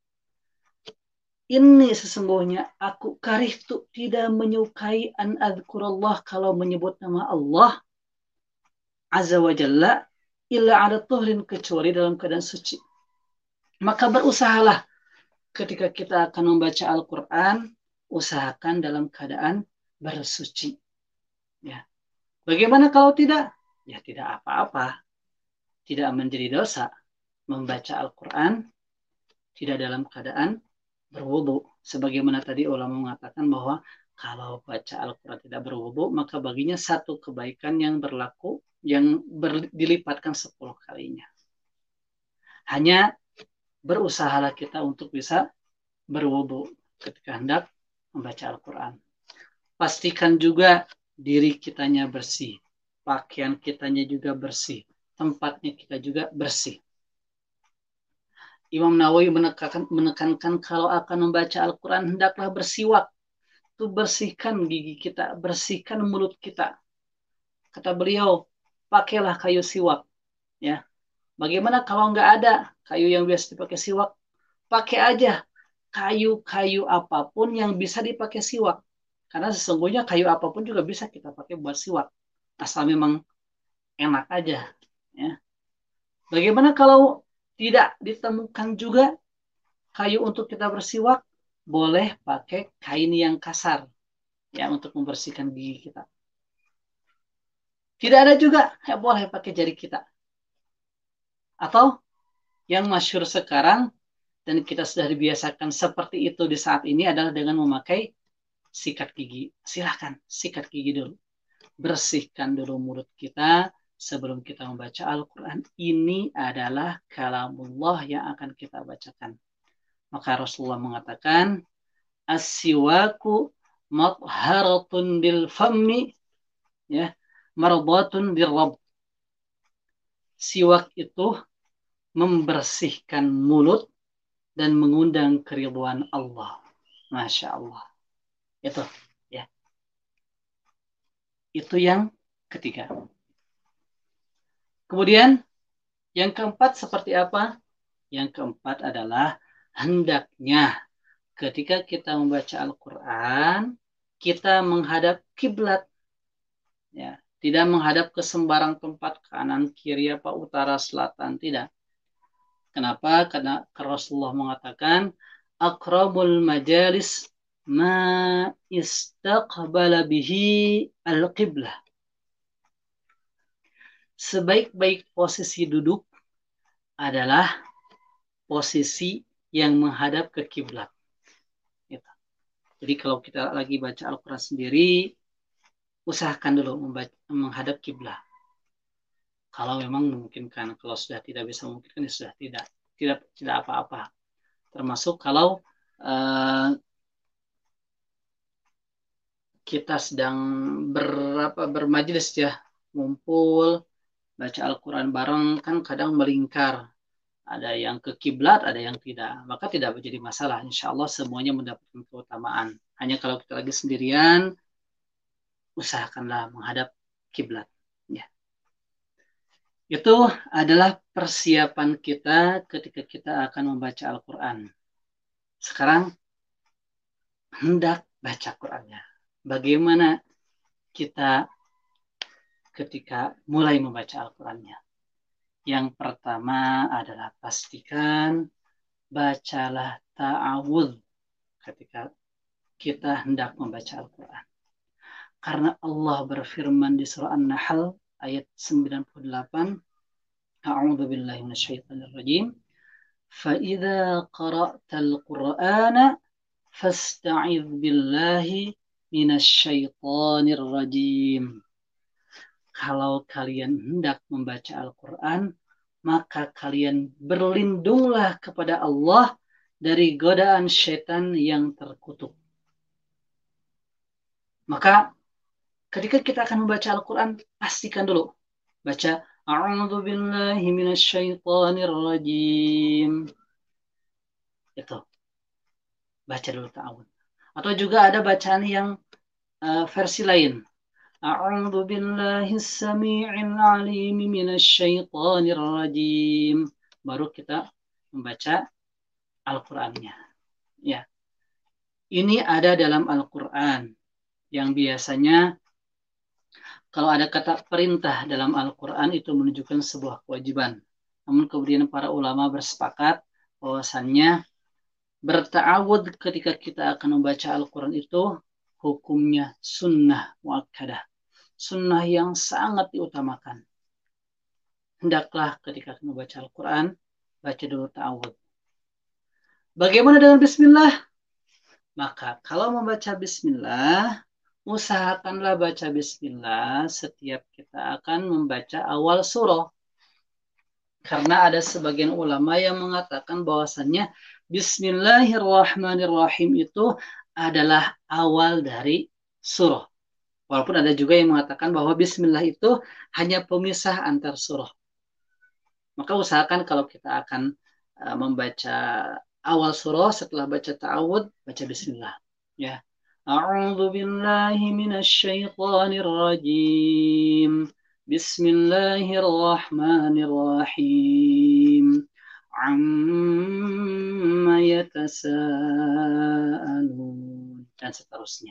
Ini sesungguhnya aku karihtu tidak menyukai an adzkurallah kalau menyebut nama Allah azza wa jalla illa ala tuhrin kecuali dalam keadaan suci. Maka berusahalah ketika kita akan membaca Al-Quran, usahakan dalam keadaan bersuci. Ya. Bagaimana kalau tidak? Ya tidak apa-apa. Tidak menjadi dosa membaca Al-Quran tidak dalam keadaan berwudu. Sebagaimana tadi ulama mengatakan bahwa kalau baca Al-Quran tidak berwudu, maka baginya satu kebaikan yang berlaku, yang dilipatkan 10 kalinya. Hanya berusahalah kita untuk bisa berwudu ketika hendak membaca Al-Quran. Pastikan juga diri kitanya bersih, pakaian kitanya juga bersih, tempatnya kita juga bersih. Imam Nawawi menekankan kalau akan membaca Al-Quran hendaklah bersiwak. Itu bersihkan gigi kita, bersihkan mulut kita. Kata beliau, pakailah kayu siwak. Ya, bagaimana kalau nggak ada kayu yang biasa dipakai siwak? Pakai aja kayu-kayu apapun yang bisa dipakai siwak. Karena sesungguhnya kayu apapun juga bisa kita pakai buat siwak. Asal memang enak aja. Ya. Bagaimana kalau tidak ditemukan juga kayu untuk kita bersiwak? Boleh pakai kain yang kasar ya untuk membersihkan gigi kita. Tidak ada juga, ya boleh pakai jari kita. Atau yang masyhur sekarang dan kita sudah dibiasakan seperti itu di saat ini adalah dengan memakai sikat gigi. Silahkan sikat gigi dulu. Bersihkan dulu mulut kita sebelum kita membaca Al-Quran. Ini adalah kalamullah yang akan kita bacakan. Maka Rasulullah mengatakan, as-siwaku matharatun lil fammi, ya, mardatun lirrabb. Siwak itu membersihkan mulut dan mengundang keridhaan Allah. Masya Allah. Itu, ya. Itu yang ketiga. Kemudian yang keempat seperti apa? Yang keempat adalah hendaknya ketika kita membaca Al-Quran, kita menghadap kiblat. Ya, tidak menghadap ke sembarang tempat, kanan, kiri, apa, utara, selatan, tidak. Kenapa? Karena Rasulullah mengatakan, aqrabul majalis ma istaqbala bihi al-qiblah. Sebaik-baik posisi duduk adalah posisi yang menghadap ke kiblat. Jadi kalau kita lagi baca Al-Quran sendiri, usahakan dulu menghadap kiblat. Kalau memang memungkinkan, kalau sudah tidak bisa memungkinkan, ya sudah tidak apa-apa. Termasuk kalau kita sedang bermajelis ya, ngumpul, baca Al-Quran bareng, kan kadang melingkar. Ada yang ke kiblat, ada yang tidak. Maka tidak menjadi masalah. Insya Allah semuanya mendapatkan keutamaan. Hanya kalau kita lagi sendirian, usahakanlah menghadap kiblat. Ya. Itu adalah persiapan kita ketika kita akan membaca Al-Quran. Sekarang, hendak baca Qurannya. Bagaimana kita ketika mulai membaca Al-Qurannya? Yang pertama adalah pastikan bacalah ta'awudz ketika kita hendak membaca Al-Quran. Karena Allah berfirman di surah An-Nahl ayat 98, A'udzu billahi minasyaitonir rajim. Fa idza qara'tal Qur'ana fasta'idz billahi minasyaitonir rajim. Kalau kalian hendak membaca Al-Quran, maka kalian berlindunglah kepada Allah dari godaan syaitan yang terkutuk. Maka ketika kita akan membaca Al-Quran, pastikan dulu. Baca, A'udzu billahi minasyaitonir rajim. Itu. Baca dulu ta'awudz. Atau juga ada bacaan yang versi lain. A'udzu billahis samii'il 'aliim minasyaitonir rajim. Baru kita membaca Al-Qur'annya. Ya. Ini ada dalam Al-Qur'an yang biasanya kalau ada kata perintah dalam Al-Qur'an itu menunjukkan sebuah kewajiban. Namun kemudian para ulama bersepakat bahwasannya berta'awud ketika kita akan membaca Al-Quran itu hukumnya sunnah muakkadah. Sunnah yang sangat diutamakan. Hendaklah ketika membaca Al-Quran, baca dulu ta'awud. Bagaimana dengan bismillah? Maka kalau membaca bismillah, usahakanlah baca bismillah setiap kita akan membaca awal surah. Karena ada sebagian ulama yang mengatakan bahwasannya Bismillahirrahmanirrahim itu adalah awal dari surah. Walaupun ada juga yang mengatakan bahwa Bismillah itu hanya pemisah antar surah. Maka usahakan kalau kita akan membaca awal surah setelah baca ta'awud, baca Bismillah. Ya. A'udzu billahi minasyaitonir rajim. Bismillahirrahmanirrahim. Amma yatasaalun dan seterusnya.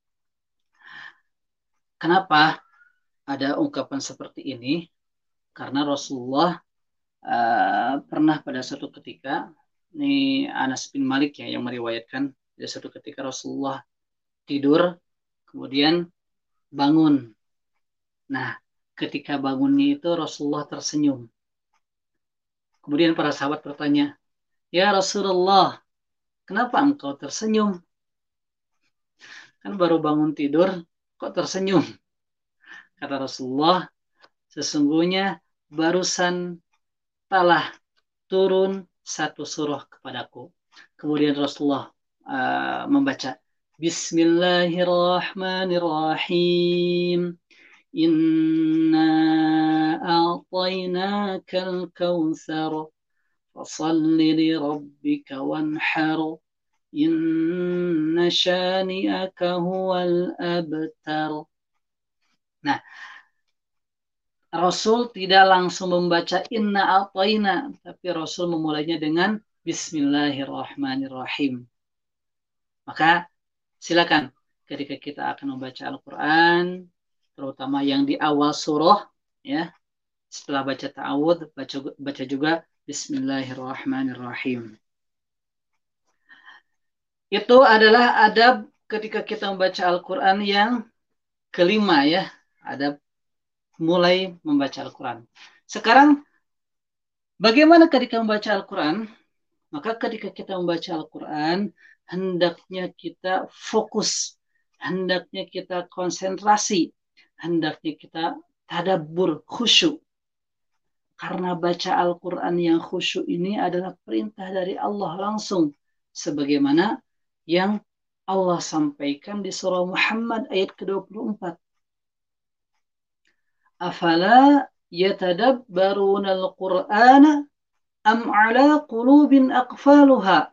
Kenapa ada ungkapan seperti ini? Karena Rasulullah pernah pada suatu ketika, ini Anas bin Malik ya yang meriwayatkan, pada suatu ketika Rasulullah tidur, kemudian bangun. Nah, ketika bangunnya itu Rasulullah tersenyum. Kemudian para sahabat bertanya, "Ya Rasulullah, kenapa engkau tersenyum? Kan baru bangun tidur, kok tersenyum?" Kata Rasulullah, "Sesungguhnya barusan telah turun satu surah kepadaku." Kemudian Rasulullah membaca, Bismillahirrahmanirrahim. Inna a'tainakal kautsar fasalli li rabbika wanhar. Inna syani'aka huwal abtar. Nah, Rasul tidak langsung membaca inna a'taina, tapi Rasul memulainya dengan Bismillahirrahmanirrahim. Maka silakan ketika kita akan membaca Al-Quran, terutama yang di awal surah, ya, setelah baca ta'awud, baca juga Bismillahirrahmanirrahim. Itu adalah adab ketika kita membaca Al-Quran yang kelima, ya, adab mulai membaca Al-Quran. Sekarang, bagaimana ketika membaca Al-Quran? Maka ketika kita membaca Al-Quran, hendaknya kita fokus, hendaknya kita konsentrasi, hendaknya kita tadabbur, khusyuk. Karena baca Al-Quran yang khusyuk ini adalah perintah dari Allah langsung. Sebagaimana yang Allah sampaikan di surah Muhammad ayat ke-24. Afala yatadabbaruna al-Qur'ana am ala qulubin aqfaluha.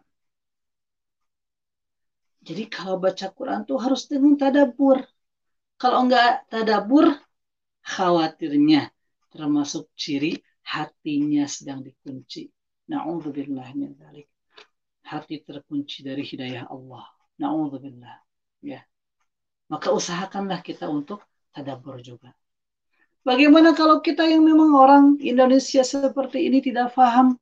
Jadi kalau baca Quran tuh harus dengan tadabbur. Kalau enggak tadabbur, khawatirnya termasuk ciri hatinya sedang dikunci. Na'udzubillah min dzalik. Hati terkunci dari hidayah Allah. Na'udzubillah. Ya. Maka usahakanlah kita untuk tadabbur juga. Bagaimana kalau kita yang memang orang Indonesia seperti ini tidak paham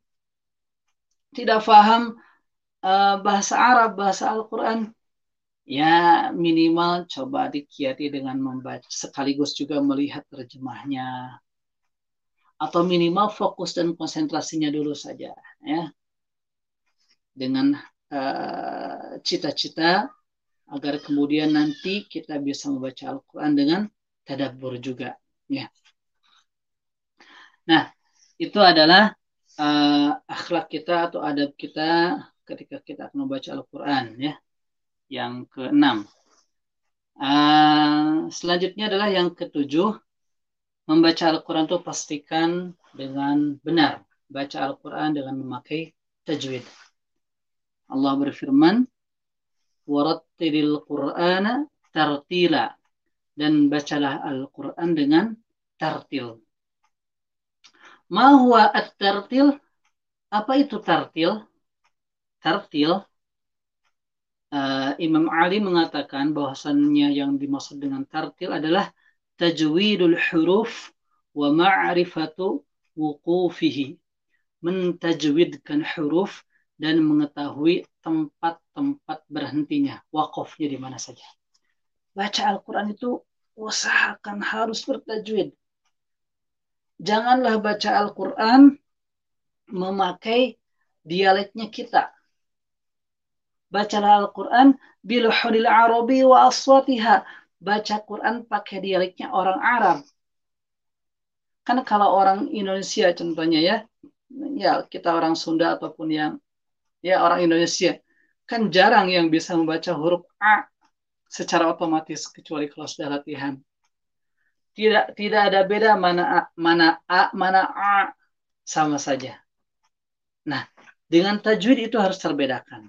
bahasa Arab, bahasa Al-Quran, ya minimal coba dikiati dengan membaca, sekaligus juga melihat terjemahnya, atau minimal fokus dan konsentrasinya dulu saja, ya, dengan cita-cita agar kemudian nanti kita bisa membaca Al-Quran dengan tadabbur juga, ya. Nah, itu adalah akhlak kita atau adab kita ketika kita akan membaca Al-Quran, ya. Yang ke-6. Selanjutnya adalah yang ke-7. Membaca Al-Quran itu pastikan dengan benar. Baca Al-Quran dengan memakai tajwid. Allah berfirman, warattilil Qur'ana tartila, dan bacalah Al-Quran dengan tartil. Ma huwa at-tartil? Apa itu tartil? Tartil, Imam Ali mengatakan bahwasannya yang dimaksud dengan tartil adalah tajwidul huruf wa ma'rifatu wuqufihi, mentajwidkan huruf dan mengetahui tempat-tempat berhentinya, wakofnya di mana saja. Baca Al-Quran itu usahakan harus bertajwid. Janganlah baca Al-Quran memakai dialeknya kita. Bacalah Al-Quran biluhunil arabi wa aswatiha. Baca Quran pakai dialeknya orang Arab. Kan kalau orang Indonesia contohnya ya kita orang Sunda ataupun yang ya orang Indonesia, kan jarang yang bisa membaca huruf A secara otomatis kecuali kalau sudah latihan. Tidak ada beda mana A, mana A, sama saja. Nah, dengan tajwid itu harus terbedakan.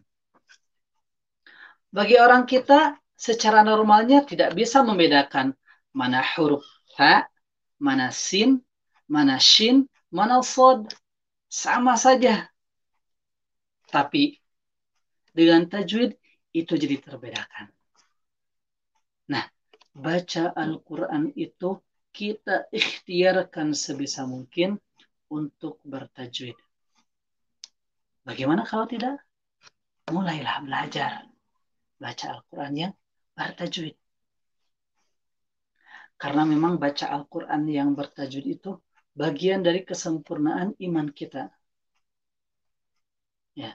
Bagi orang kita secara normalnya tidak bisa membedakan mana huruf ha, mana sin, mana shin, mana sod. Sama saja. Tapi dengan tajwid itu jadi terbedakan. Nah, baca Al-Quran itu kita ikhtiarkan sebisa mungkin untuk bertajwid. Bagaimana kalau tidak? Mulailah belajar baca Al-Quran yang bertajwid. Karena memang baca Al-Quran yang bertajwid itu bagian dari kesempurnaan iman kita. Ya.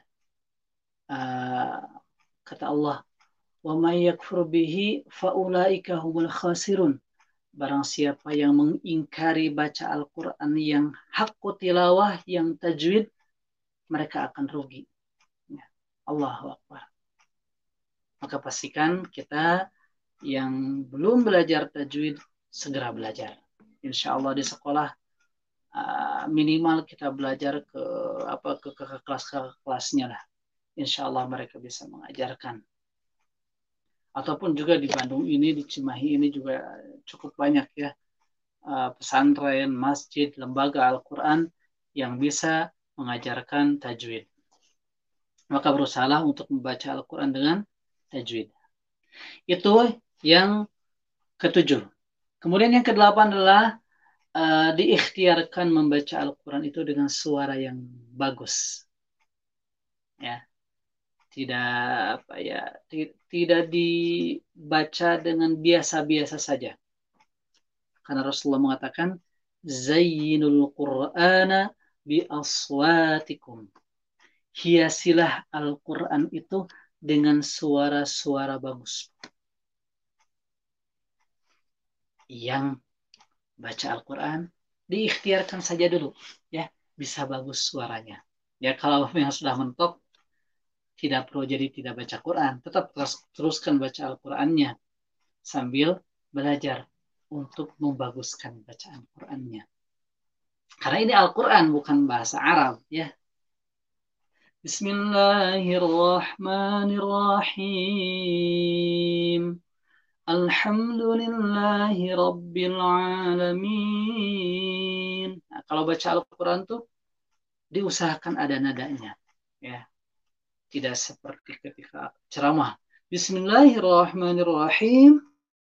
Kata Allah, wa may yakfur bihi faulaika humul khasirun. Barang siapa yang mengingkari baca Al-Quran yang hakku tilawah, yang tajwid, mereka akan rugi. Ya. Allahu Akbar. Maka pastikan kita yang belum belajar tajwid segera belajar. Insya Allah di sekolah minimal kita belajar ke kelasnya lah. Insya Allah mereka bisa mengajarkan. Ataupun juga di Bandung ini, di Cimahi ini juga cukup banyak ya pesantren, masjid, lembaga Al-Quran yang bisa mengajarkan tajwid. Maka berusahalah untuk membaca Al-Quran dengan tajwid. Itu yang ke-7. Kemudian yang ke-8 adalah diikhtiarkan membaca Al-Quran itu dengan suara yang bagus. Ya. Tidak dibaca dengan biasa-biasa saja. Karena Rasulullah mengatakan, Zayyinul Qur'ana bi aswatikum. Hiasilah Al-Quran itu dengan suara-suara bagus. Yang baca Al-Quran diikhtiarkan saja dulu, ya, bisa bagus suaranya. Ya, kalau yang sudah mentok, tidak perlu jadi tidak baca Quran, tetap teruskan baca Al-Qurannya sambil belajar untuk membaguskan bacaan Qurannya. Karena ini Al-Quran bukan bahasa Arab, ya. Bismillahirrahmanirrahim. Alhamdulillahi Rabbil Alamin. Nah, kalau baca Al-Quran tuh diusahakan ada nadanya, ya. Tidak seperti ketika ceramah. Bismillahirrahmanirrahim.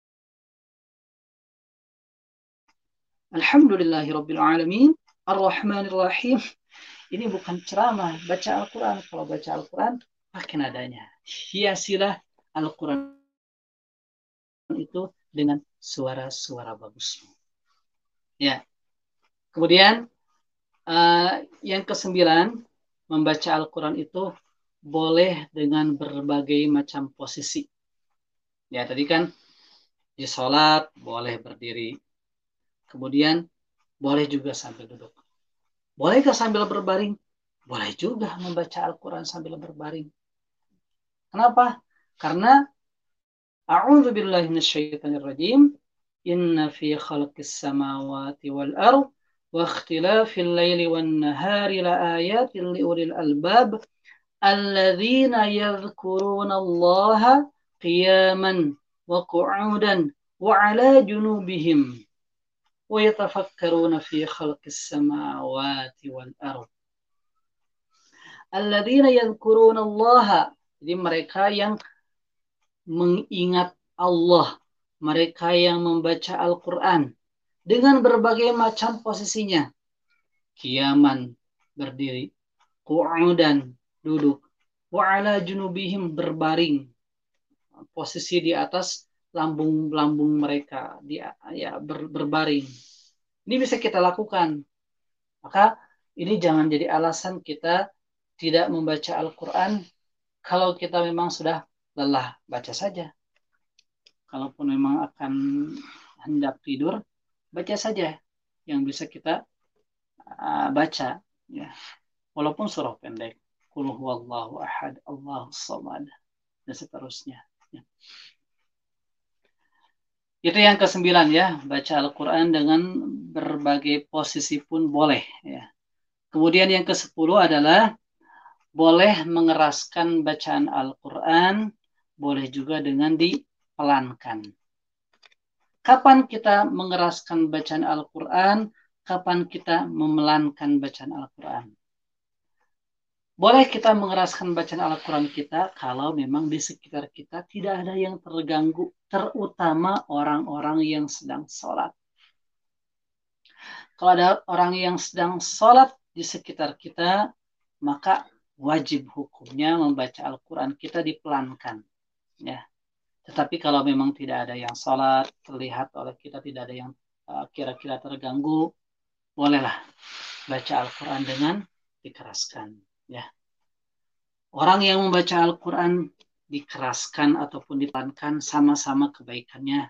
Alhamdulillahi Rabbil Alamin. Ar-Rahmanirrahim. Ini bukan ceramah, baca Al-Quran. Kalau baca Al-Quran, pakai nadanya. Hiasilah Al-Quran itu dengan suara-suara bagus. Ya. Kemudian yang ke-9, membaca Al-Quran itu boleh dengan berbagai macam posisi. Ya, tadi kan di sholat boleh berdiri. Kemudian boleh juga sambil duduk. Bolehkah sambil berbaring? Boleh juga membaca Al-Quran sambil berbaring. Kenapa? Karena a'udzu billahi minasyaitonir rajim. Inna fi khalqis samawati wal ardh wa ikhtilafil laili wan nahari la ayatin liulil albab alladzina yadhkuruna Allah qiyaman wa qu'udan wa 'ala junubihim wa yatafakkaruna fi khalqis samawati wal ardh. Alladzina yadhkuruna Allah, jadi mereka yang mengingat Allah, mereka yang membaca Al-Quran dengan berbagai macam posisinya. Qiyaman, berdiri, qu'udan, duduk, wa ala junubihim, berbaring, posisi di atas lambung-lambung mereka, berbaring. Ini bisa kita lakukan. Maka ini jangan jadi alasan kita tidak membaca Al-Quran kalau kita memang sudah lelah, baca saja. Kalaupun memang akan hendak tidur, baca saja yang bisa kita baca, ya. Walaupun surah pendek, Qul huwallahu ahad, Allahus samad, dan seterusnya. Ya. Itu yang ke-9 ya, baca Al-Quran dengan berbagai posisi pun boleh. Ya. Kemudian yang ke-10 adalah boleh mengeraskan bacaan Al-Quran, boleh juga dengan dipelankan. Kapan kita mengeraskan bacaan Al-Quran, kapan kita memelankan bacaan Al-Quran. Boleh kita mengeraskan bacaan Al-Quran kita kalau memang di sekitar kita tidak ada yang terganggu, terutama orang-orang yang sedang sholat. Kalau ada orang yang sedang sholat di sekitar kita, maka wajib hukumnya membaca Al-Quran kita dipelankan. Ya. Tetapi kalau memang tidak ada yang sholat, terlihat oleh kita tidak ada yang kira-kira terganggu, bolehlah baca Al-Quran dengan dikeraskan. Ya. Orang yang membaca Al-Quran dikeraskan ataupun dipelankan sama-sama kebaikannya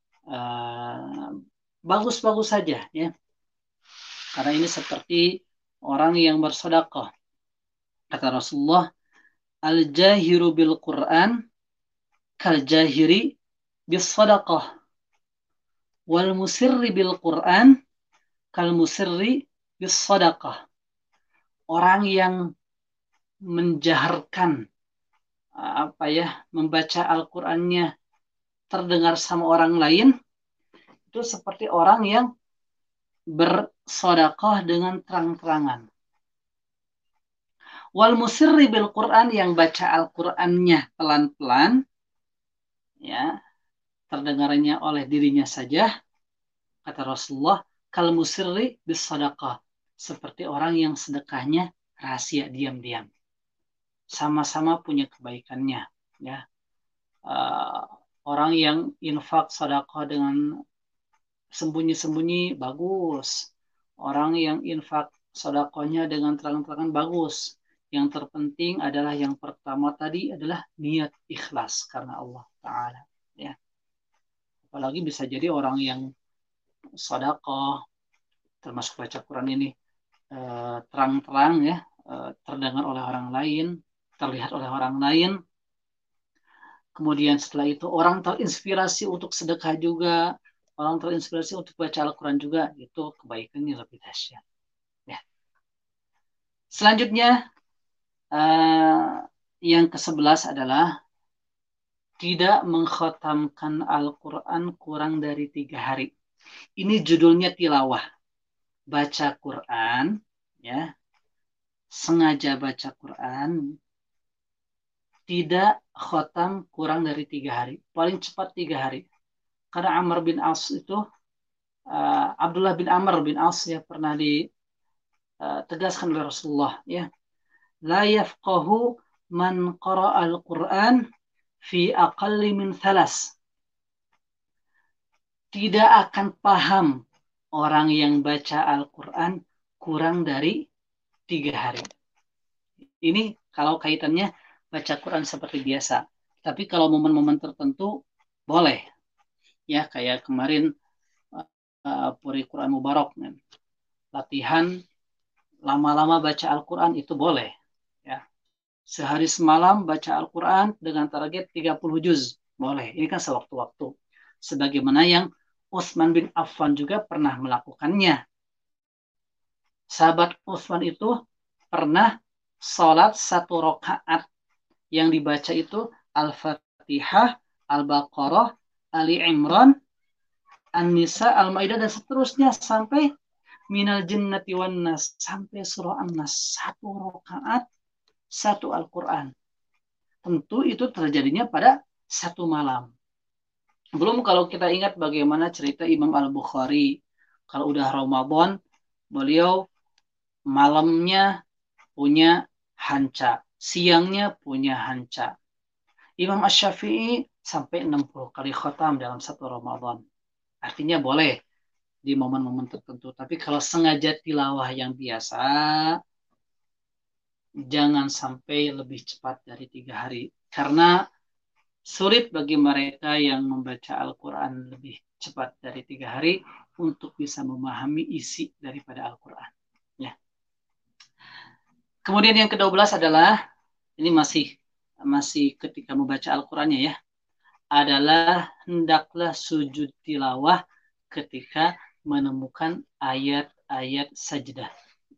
bagus-bagus saja. Ya. Karena ini seperti orang yang bersedekah. Kata Rasulullah, al-jahiru bil Quran kal-jahiri bis sadaqah wal musirri bil Quran kal musirri bis sadaqah. Orang yang menjaharkan membaca Al-Qur'annya terdengar sama orang lain itu seperti orang yang bersedekah dengan terang-terangan. Wal musirri bil Quran, yang baca Al-Qur'annya pelan-pelan, ya, terdengarnya oleh dirinya saja, kata Rasulullah, kal musirri bis sadaqah, seperti orang yang sedekahnya rahasia, diam-diam. Sama-sama punya kebaikannya, ya. Orang yang infak sedekah dengan sembunyi-sembunyi bagus. Orang yang infak sedekahnya dengan terang-terangan bagus. Yang terpenting adalah yang pertama tadi adalah niat ikhlas karena Allah Ta'ala. Ya. Apalagi bisa jadi orang yang sedekah, termasuk baca Quran ini, terang-terang, ya, terdengar oleh orang lain, terlihat oleh orang lain. Kemudian setelah itu orang terinspirasi untuk sedekah juga, orang terinspirasi untuk baca Al-Quran juga, itu kebaikannya lebih dahsyat. Ya. Selanjutnya, yang ke-11 adalah tidak mengkhatamkan Al-Quran kurang dari 3 hari. Ini judulnya tilawah. Baca Quran, ya, sengaja baca Quran, tidak khatam kurang dari 3 hari. Paling cepat 3 hari. Karena Amr bin As itu, Abdullah bin Amr bin As, ya, pernah ditegaskan oleh Rasulullah, ya, la yafqahu man qara'a al-Quran fi aqalli min 3. Tidak akan paham orang yang baca Al-Quran kurang dari 3 hari. Ini kalau kaitannya baca Quran seperti biasa. Tapi kalau momen-momen tertentu boleh. Ya, kayak kemarin Puri Quran Mubarak, latihan lama-lama baca Al-Quran itu boleh. Ya. Sehari semalam baca Al-Quran dengan target 30 juz. Boleh. Ini kan sewaktu-waktu. Sebagaimana yang Utsman bin Affan juga pernah melakukannya. Sahabat Utsman itu pernah salat 1 rakaat yang dibaca itu Al-Fatihah, Al-Baqarah, Ali Imran, An-Nisa, Al-Maidah dan seterusnya sampai Minal Jinnati wan Nas sampai surah An-Nas. 1 rakaat, 1 Al-Quran. Tentu itu terjadinya pada 1 malam. Belum kalau kita ingat bagaimana cerita Imam Al-Bukhari. Kalau udah Ramadan, beliau malamnya punya hanca, siangnya punya hanca. Imam Asy-Syafi'i sampai 60 kali khatam dalam 1 Ramadan. Artinya boleh di momen-momen tertentu. Tapi kalau sengaja tilawah yang biasa, jangan sampai lebih cepat dari 3 hari. Karena sulit bagi mereka yang membaca Al-Quran lebih cepat dari 3 hari untuk bisa memahami isi daripada Al-Quran. Ya. Kemudian yang ke-12 adalah, ini masih ketika membaca Al-Qurannya ya, adalah hendaklah sujud tilawah ketika menemukan ayat-ayat sajdah.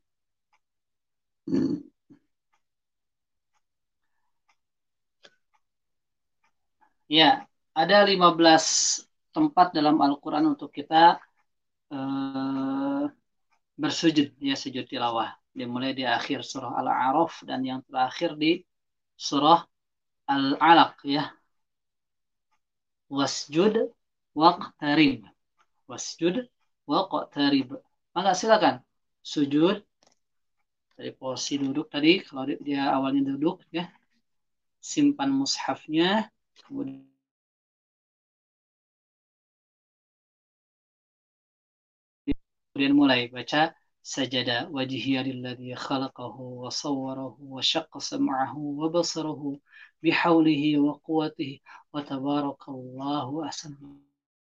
Ya, ada 15 tempat dalam Al-Quran untuk kita bersujud, ya, sujud tilawah. Dimulai di akhir surah Al-A'raf dan yang terakhir di surah Al-Alaq, ya. Wasjud waqtarib. Wasjud waqtarib. Maka silakan sujud dari posisi duduk tadi, kalau dia awalnya duduk, ya. Simpan mushafnya, kemudian mulai baca sajadah wajhiya lilladzi khalaqahu wa sawwarahu wa syaqqa sam'ahu wa basarahu bihaulihi wa quwwatihi wa tabarakallahu ahsanul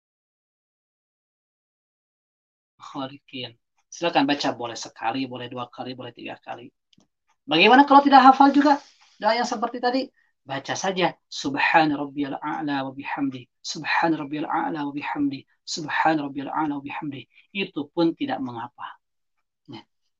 khaliqin. Silakan baca, boleh sekali, boleh 2 kali, boleh 3 kali. Bagaimana kalau tidak hafal juga doa yang seperti tadi? Baca saja subhana rabbiyal a'la wa bihamdi, subhana rabbiyal a'la wa bihamdi, subhana rabbiyal a'la wa bihamdi. Itu pun tidak mengapa. Ya.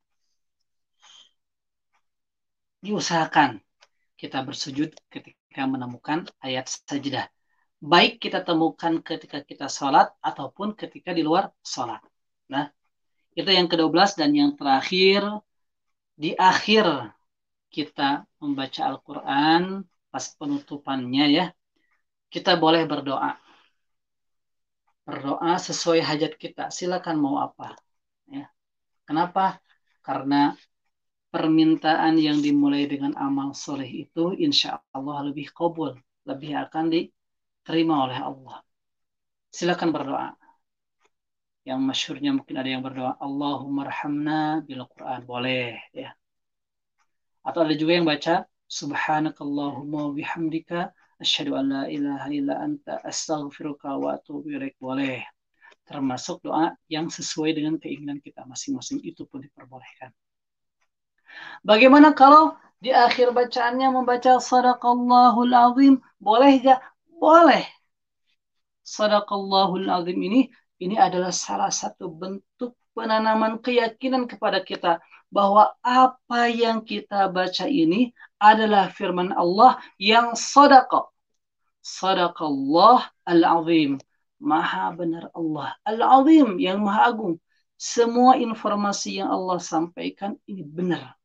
Diusahakan kita bersujud ketika menemukan ayat sajdah. Baik kita temukan ketika kita sholat ataupun ketika di luar sholat. Nah, itu yang ke-12 dan yang terakhir, di akhir kita membaca Al-Quran, pas penutupannya ya, kita boleh berdoa. Berdoa sesuai hajat kita. Silakan mau apa. Ya. Kenapa? Karena permintaan yang dimulai dengan amal soleh itu insya Allah lebih qabul, lebih akan diterima oleh Allah. Silakan berdoa. Yang masyhurnya mungkin ada yang berdoa Allahumma arhamna bil Quran, boleh ya. Atau ada juga yang baca subhanakallahumma bihamdika asyhadu an la ilaha illa anta astaghfiruka wa atubu ilaik, boleh. Termasuk doa yang sesuai dengan keinginan kita masing-masing, itu pun diperbolehkan. Bagaimana kalau di akhir bacaannya membaca sadaqallahul azim, boleh gak? Boleh. Sadaqallahul azim ini adalah salah satu bentuk penanaman keyakinan kepada kita bahwa apa yang kita baca ini adalah firman Allah yang sadaqa. Sadaqallah al-azim. Maha benar Allah. Al-azim, yang maha agung. Semua informasi yang Allah sampaikan ini benar.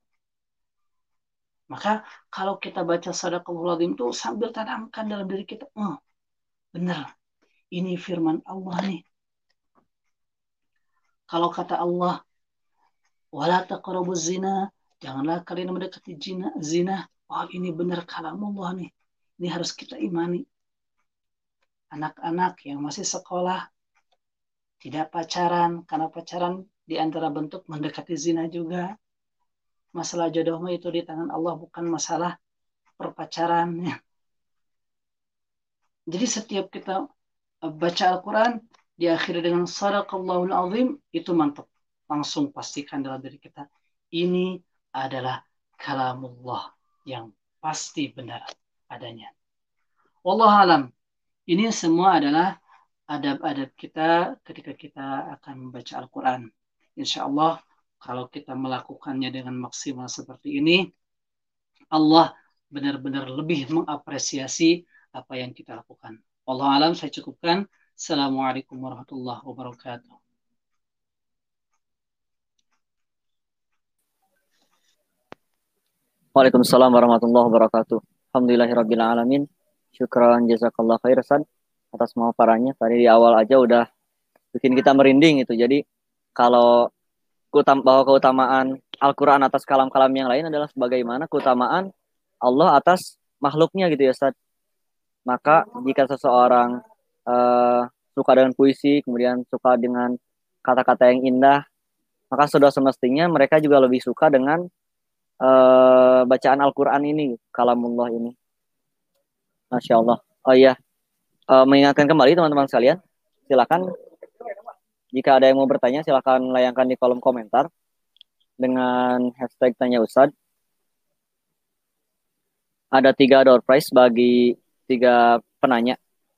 Maka kalau kita baca sadaqallahul azim itu sambil tanamkan dalam diri kita, benar. Ini firman Allah nih. Kalau kata Allah, wala taqrabuz zina, janganlah kalian mendekati zina. Oh, ini benar kalamullah nih. Ini harus kita imani. Anak-anak yang masih sekolah tidak pacaran, karena pacaran di antara bentuk mendekati zina juga. Masalah jodoh itu di tangan Allah, bukan masalah perpacaran. Jadi setiap kita baca Al-Quran diakhiri dengan sadaqallahul azim, itu mantap. Langsung pastikan dalam diri kita, ini adalah kalamullah yang pasti benar adanya. Wallahu alam. Ini semua adalah adab-adab kita ketika kita akan membaca Al-Quran. Insya Allah kalau kita melakukannya dengan maksimal seperti ini, Allah benar-benar lebih mengapresiasi apa yang kita lakukan. Allah alam, saya cukupkan. Assalamualaikum warahmatullahi wabarakatuh. Waalaikumsalam warahmatullahi wabarakatuh. Alhamdulillahirabbil alamin. Syukran jazakallah khair Ustaz atas pemaparannya. Tadi di awal aja udah bikin kita merinding itu. Jadi kalau bahwa keutamaan Al-Qur'an atas kalam-kalam yang lain adalah sebagaimana keutamaan Allah atas makhluknya gitu ya Ustaz. Maka jika seseorang suka dengan puisi, kemudian suka dengan kata-kata yang indah, maka sudah semestinya mereka juga lebih suka dengan bacaan Al-Quran ini, kalamullah ini. Masya Allah. Oh iya, mengingatkan kembali teman-teman sekalian, silakan jika ada yang mau bertanya, silakan layangkan di kolom komentar dengan hashtag tanya Ustadz. Ada 3 door prize bagi 3 penanya.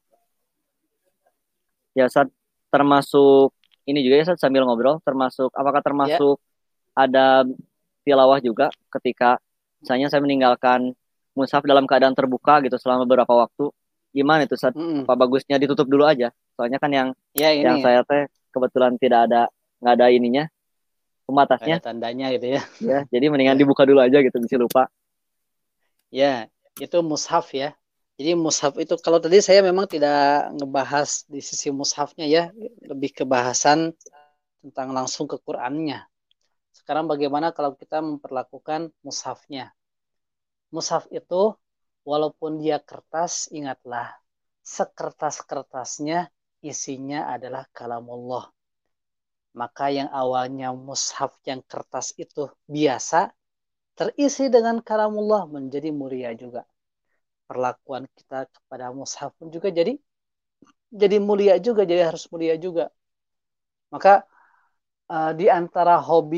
Ya Ustadz, termasuk ini juga ya Ustadz, sambil ngobrol, apakah termasuk ada tilawah juga ketika misalnya saya meninggalkan mushaf dalam keadaan terbuka gitu selama beberapa waktu, gimana itu Ustadz? Apa bagusnya ditutup dulu aja? Soalnya kan yang saya teh kebetulan nggak ada ininya, pembatasnya, ada tandanya gitu ya. Ya, jadi mendingan dibuka dulu aja gitu, bisa lupa. Ya, itu mushaf ya. Jadi mushaf itu, kalau tadi saya memang tidak ngebahas di sisi mushafnya ya, lebih ke bahasan tentang langsung ke Qur'annya. Sekarang bagaimana kalau kita memperlakukan mushafnya? Mushaf itu walaupun dia kertas, ingatlah, sekertas-kertasnya isinya adalah kalamullah. Maka yang awalnya mushaf yang kertas itu biasa, terisi dengan kalamullah menjadi mulia juga. Perlakuan kita kepada mushaf pun juga jadi mulia juga, jadi harus mulia juga. Maka di antara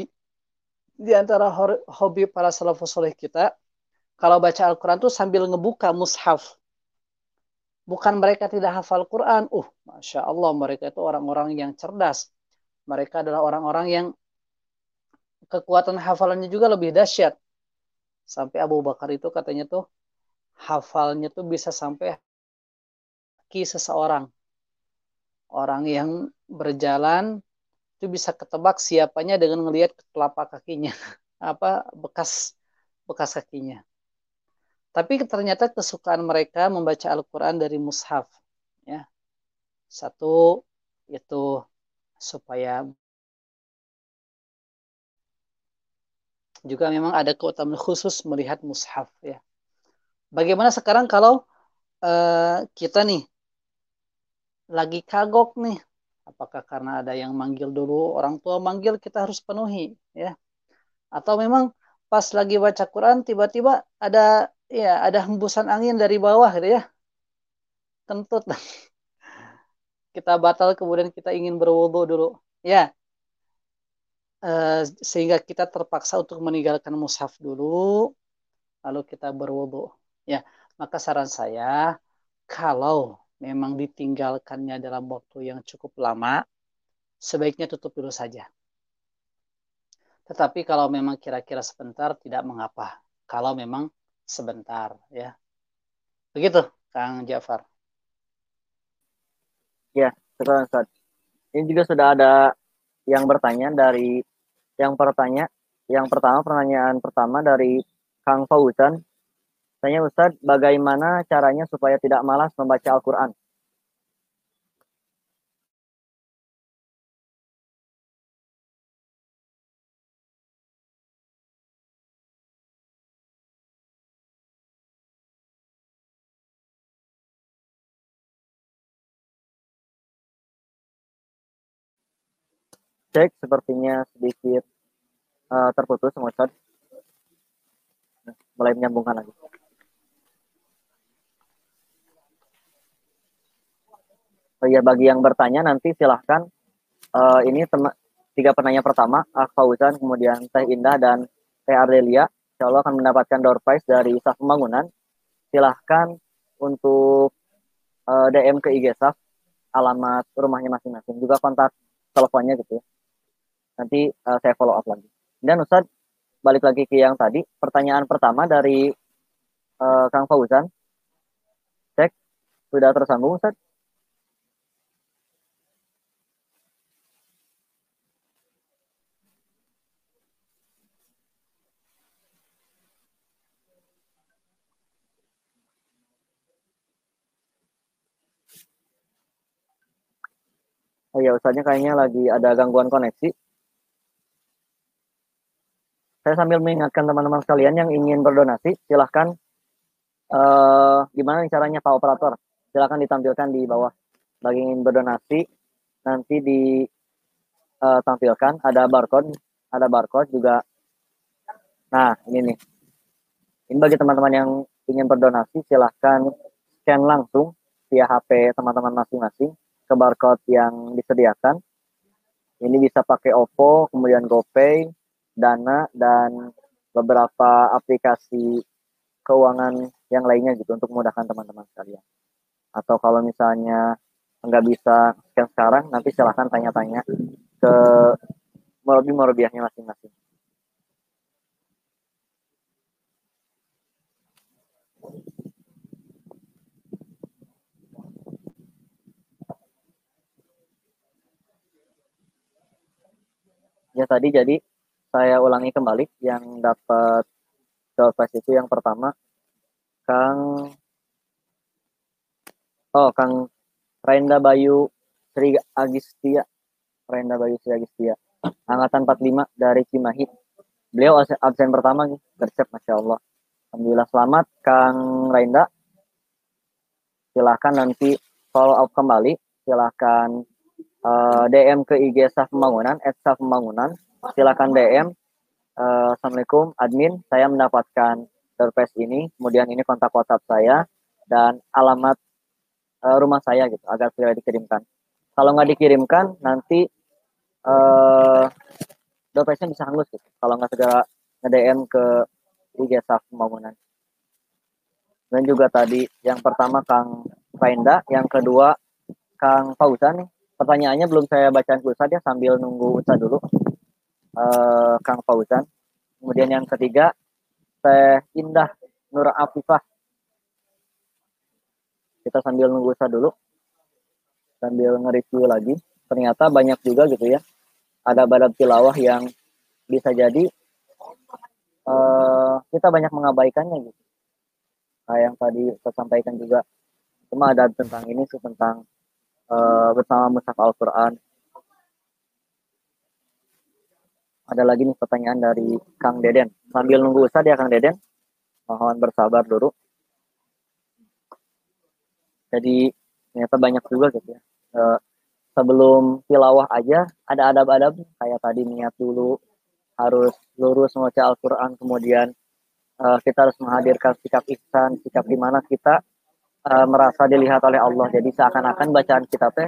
hobi para salafus saleh kita, kalau baca Al-Quran tuh sambil ngebuka mushaf. Bukan mereka tidak hafal Quran. Masya Allah, mereka itu orang-orang yang cerdas. Mereka adalah orang-orang yang kekuatan hafalannya juga lebih dahsyat. Sampai Abu Bakar itu katanya tuh hafalnya tuh bisa sampai kaki seseorang. Orang yang berjalan itu bisa ketebak siapanya dengan melihat telapak kakinya. Apa bekas kakinya. Tapi ternyata kesukaan mereka membaca Al-Quran dari mushaf. Ya. Satu, itu supaya juga memang ada keutamaan khusus melihat mushaf. Ya. Bagaimana sekarang kalau kita nih lagi kagok nih, apakah karena ada yang manggil dulu, orang tua manggil kita harus penuhi, ya? Atau memang pas lagi baca Quran tiba-tiba ada hembusan angin dari bawah gitu ya, kentut, kita batal kemudian kita ingin berwudu dulu, ya, sehingga kita terpaksa untuk meninggalkan mushaf dulu, lalu kita berwudu, ya. Maka saran saya, kalau memang ditinggalkannya dalam waktu yang cukup lama, sebaiknya tutup dulu saja. Tetapi kalau memang kira-kira sebentar, tidak mengapa. Kalau memang sebentar, ya. Begitu, Kang Jafar. Ya, sekarang Ustaz. Ini juga sudah ada yang bertanya dari yang pertanyaan pertama dari Kang Fauzan. Tanya Ustaz, bagaimana caranya supaya tidak malas membaca Al-Quran? Cek, sepertinya sedikit terputus sama Ustaz. Mulai menyambungkan lagi. Oh iya, bagi yang bertanya nanti silahkan ini 3 penanya pertama, Fauzan, kemudian Teh Indah dan Teh Ardelia, insya Allah akan mendapatkan door prize dari SAF Pembangunan. Silahkan untuk DM ke IG SAF, alamat rumahnya masing-masing, juga kontak teleponnya gitu ya. Nanti saya follow up lagi. Dan Ustadz, balik lagi ke yang tadi, pertanyaan pertama dari Kang Fauzan, cek sudah tersambung Ustaz? Oh iya, Ustaznya kayaknya lagi ada gangguan koneksi. Saya sambil mengingatkan teman-teman sekalian yang ingin berdonasi, silahkan gimana caranya Pak Operator? Silahkan ditampilkan di bawah. Bagi ingin berdonasi, nanti ditampilkan ada barcode juga. Nah, ini nih. Ini bagi teman-teman yang ingin berdonasi, silahkan scan langsung via HP teman-teman masing-masing ke barcode yang disediakan. Ini bisa pakai OVO, kemudian GoPay, Dana, dan beberapa aplikasi keuangan yang lainnya gitu untuk memudahkan teman-teman sekalian. Atau kalau misalnya nggak bisa scan sekarang, nanti silahkan tanya-tanya ke morobiahnya masing-masing. Ya tadi jadi saya ulangi kembali yang dapat surprise itu yang pertama Kang Kang Renda Bayu Sri Agistia, Renda Bayu Sri Agistia, angkatan 45 dari Cimahi. Beliau absen pertama nih, gercep Masya Allah. Alhamdulillah selamat Kang Renda. Silahkan nanti follow up kembali. Silahkan DM ke IG Saf Pembangunan, @Saf Pembangunan. Silahkan DM. Assalamualaikum admin, saya mendapatkan surprise ini, kemudian ini kontak WhatsApp saya dan alamat rumah saya gitu agar segera dikirimkan. Kalau nggak dikirimkan nanti surprise-nya bisa hangus gitu. Kalau nggak segera nge-DM ke IG Saf Pembangunan. Dan juga tadi yang pertama Kang Rainda, yang kedua Kang Fauzan nih. Pertanyaannya belum saya bacakan ke Ustadz ya, sambil nunggu Ustadz dulu. Kang Fauzan. Kemudian yang ketiga Teh Indah Nur Afifah. Kita sambil nunggu Ustadz dulu, sambil nge-review lagi. Ternyata banyak juga gitu ya. Ada badab tilawah yang bisa jadi kita banyak mengabaikannya gitu. Nah, yang tadi saya sampaikan juga cuma ada tentang ini sih, tentang bersama mushaf Al-Quran. Ada lagi nih pertanyaan dari Kang Deden. Sambil nunggu Ustadz ya Kang Deden, mohon bersabar dulu. Jadi ternyata banyak juga gitu ya. Sebelum tilawah aja ada adab-adab kayak tadi niat dulu, harus lurus membaca Al-Quran, kemudian kita harus menghadirkan sikap ihsan, sikap di mana kita merasa dilihat oleh Allah. Jadi seakan-akan bacaan kita teh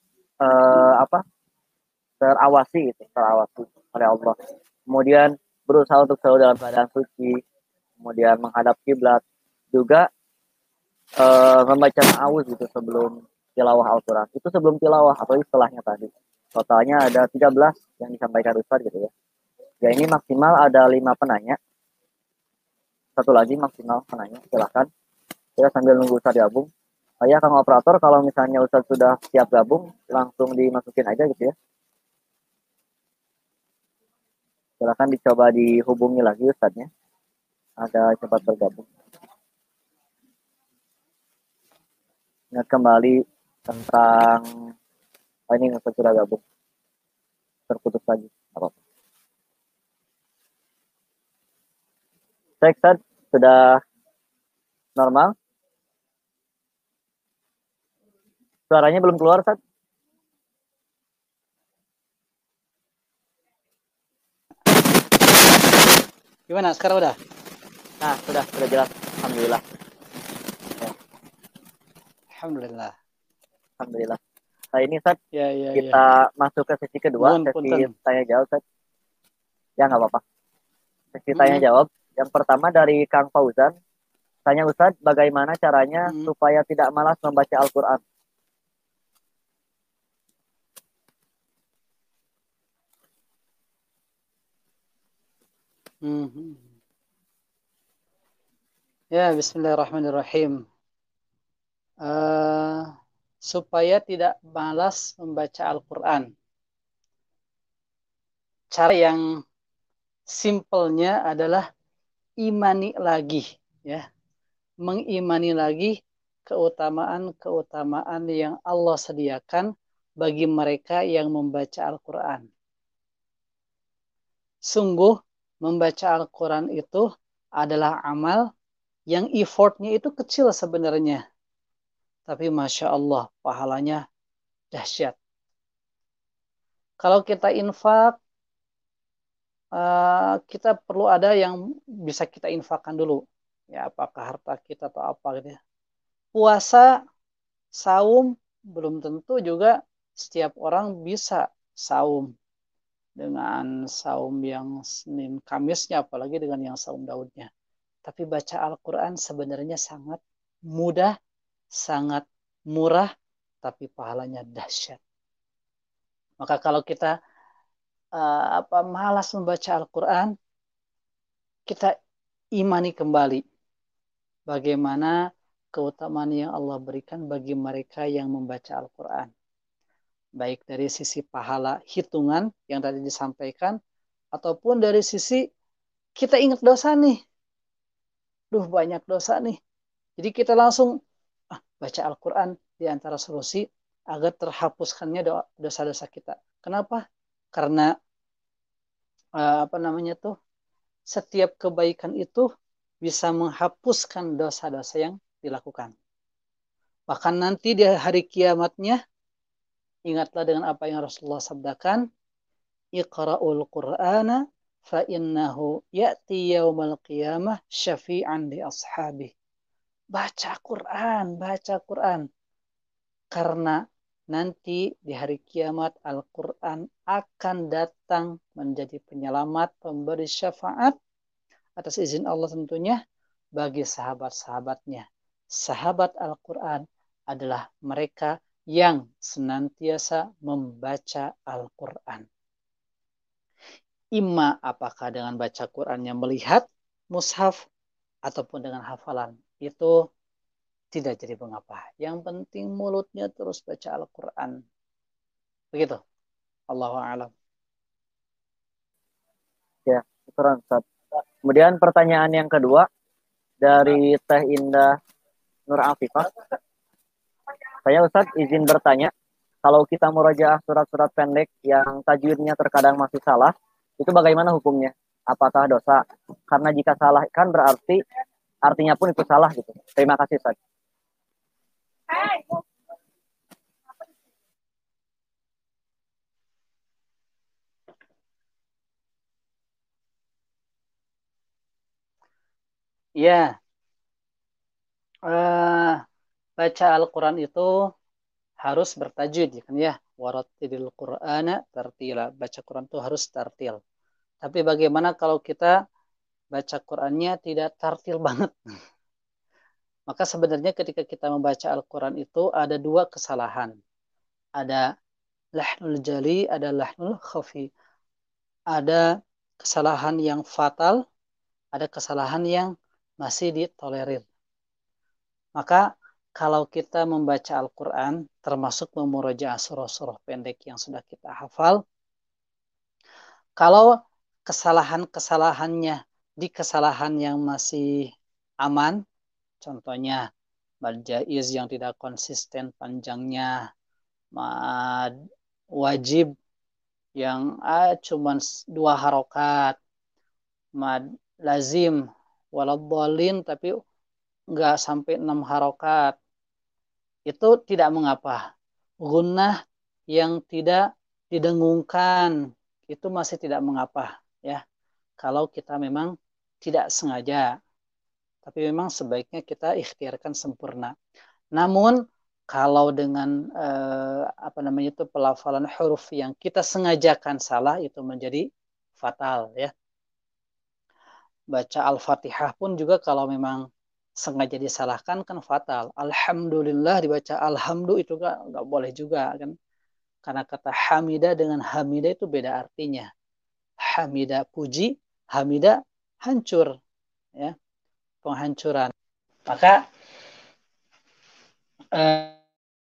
terawasi gitu, terawasi oleh Allah. Kemudian berusaha untuk selalu dalam keadaan suci, kemudian menghadap kiblat, juga membaca ta'awuz gitu sebelum tilawah Al-Quran. Itu sebelum tilawah atau setelahnya tadi. Totalnya ada 13 yang disampaikan Ustaz gitu ya. Ya ini maksimal ada 5 penanya. Satu lagi maksimal penanya, silahkan. Kita sambil nunggu Ustaz gabung. Ya Kang Operator, kalau misalnya Ustaz sudah siap gabung, langsung dimasukin aja gitu ya. Silahkan dicoba dihubungi lagi Ustaznya. Ada cepat bergabung. Ingat kembali tentang ini Ustaz sudah gabung. Terputus lagi. Apa-apa. Cek Ustaz, sudah normal? Suaranya belum keluar Ustaz? Gimana sekarang udah? Nah, sudah jelas. Alhamdulillah. Alhamdulillah. Alhamdulillah. Nah, ini Ustaz, Ya. kita masuk ke sesi kedua, Nuhun sesi punten. tanya jawab Ustaz. Ya nggak apa-apa. Sesi tanya jawab. Yang pertama dari Kang Fauzan. Tanya Ustaz, bagaimana caranya supaya tidak malas membaca Al-Quran? Ya, Bismillahirrahmanirrahim. Eh, supaya tidak malas membaca Al-Quran. Cara yang simpelnya adalah imani lagi, ya, mengimani lagi keutamaan-keutamaan yang Allah sediakan bagi mereka yang membaca Al-Quran. Sungguh membaca Al-Quran itu adalah amal yang effortnya itu kecil sebenarnya. Tapi Masya Allah, pahalanya dahsyat. Kalau kita infak, kita perlu ada yang bisa kita infakkan dulu. Ya, apakah harta kita atau apa gitu ya. Puasa, saum, belum tentu juga setiap orang bisa saum dengan saum yang Senin Kamisnya, apalagi dengan yang saum Daudnya. Tapi baca Al-Quran sebenarnya sangat mudah, sangat murah, tapi pahalanya dahsyat. Maka kalau kita malas membaca Al-Quran, kita imani kembali bagaimana keutamaan yang Allah berikan bagi mereka yang membaca Al-Quran. Baik dari sisi pahala hitungan yang tadi disampaikan, ataupun dari sisi kita ingat dosa nih. Duh, banyak dosa nih. Jadi kita langsung baca Al-Quran di antara solusi agar terhapuskannya dosa-dosa kita. Kenapa? Karena apa namanya tuh, setiap kebaikan itu bisa menghapuskan dosa-dosa yang dilakukan. Bahkan nanti di hari kiamatnya, ingatlah dengan apa yang Rasulullah sabdakan, Iqra'ul Qur'ana fa innahu ya'ti yaumal qiyamah syafi'an li ashabih. Baca Quran, baca Quran. Karena nanti di hari kiamat Al-Quran akan datang menjadi penyelamat, pemberi syafaat atas izin Allah tentunya bagi sahabat-sahabatnya. Sahabat Al-Quran adalah mereka yang senantiasa membaca Al-Quran. Imma apakah dengan baca Qurannya melihat mushaf ataupun dengan hafalan. Itu tidak jadi mengapa. Yang penting mulutnya terus baca Al-Quran. Begitu. Allahu a'lam. Ya, syukuran Ustaz. Kemudian pertanyaan yang kedua dari Teh Indah Nur Afifah. Saya Ustaz izin bertanya, kalau kita murojaah surat-surat pendek yang tajwidnya terkadang masih salah, itu bagaimana hukumnya? Apakah dosa? Karena jika salah kan berarti artinya pun itu salah gitu. Terima kasih Ustaz. Ya, baca Al-Quran itu harus bertajwid ya kan ya. Warattilil Qur'ana tartila. Baca Quran itu harus tartil. Tapi bagaimana kalau kita baca Qurannya tidak tartil banget? Maka sebenarnya ketika kita membaca Al-Quran itu ada dua kesalahan. Ada lahnul jali, ada lahnul khafi. Ada kesalahan yang fatal, ada kesalahan yang masih ditolerir. Maka kalau kita membaca Al-Quran, termasuk memurojaah surah-surah pendek yang sudah kita hafal, kalau kesalahan-kesalahannya di kesalahan yang masih aman, contohnya mad jaiz yang tidak konsisten panjangnya, mad wajib yang cuman 2 harokat, mad lazim waladhdallin tapi nggak sampai 6 harokat, itu tidak mengapa. Gunnah yang tidak didengungkan itu masih tidak mengapa ya. Kalau kita memang tidak sengaja, tapi memang sebaiknya kita ikhtiarkan sempurna. Namun kalau dengan apa namanya itu pelafalan huruf yang kita sengajakan salah itu menjadi fatal ya. Baca Al-Fatihah pun juga kalau memang sengaja disalahkan kan fatal. Alhamdulillah dibaca alhamdu itu nggak boleh juga kan. Karena kata hamidah dengan hamidah itu beda artinya. Hamidah puji, hamidah hancur ya, penghancuran. Maka eh,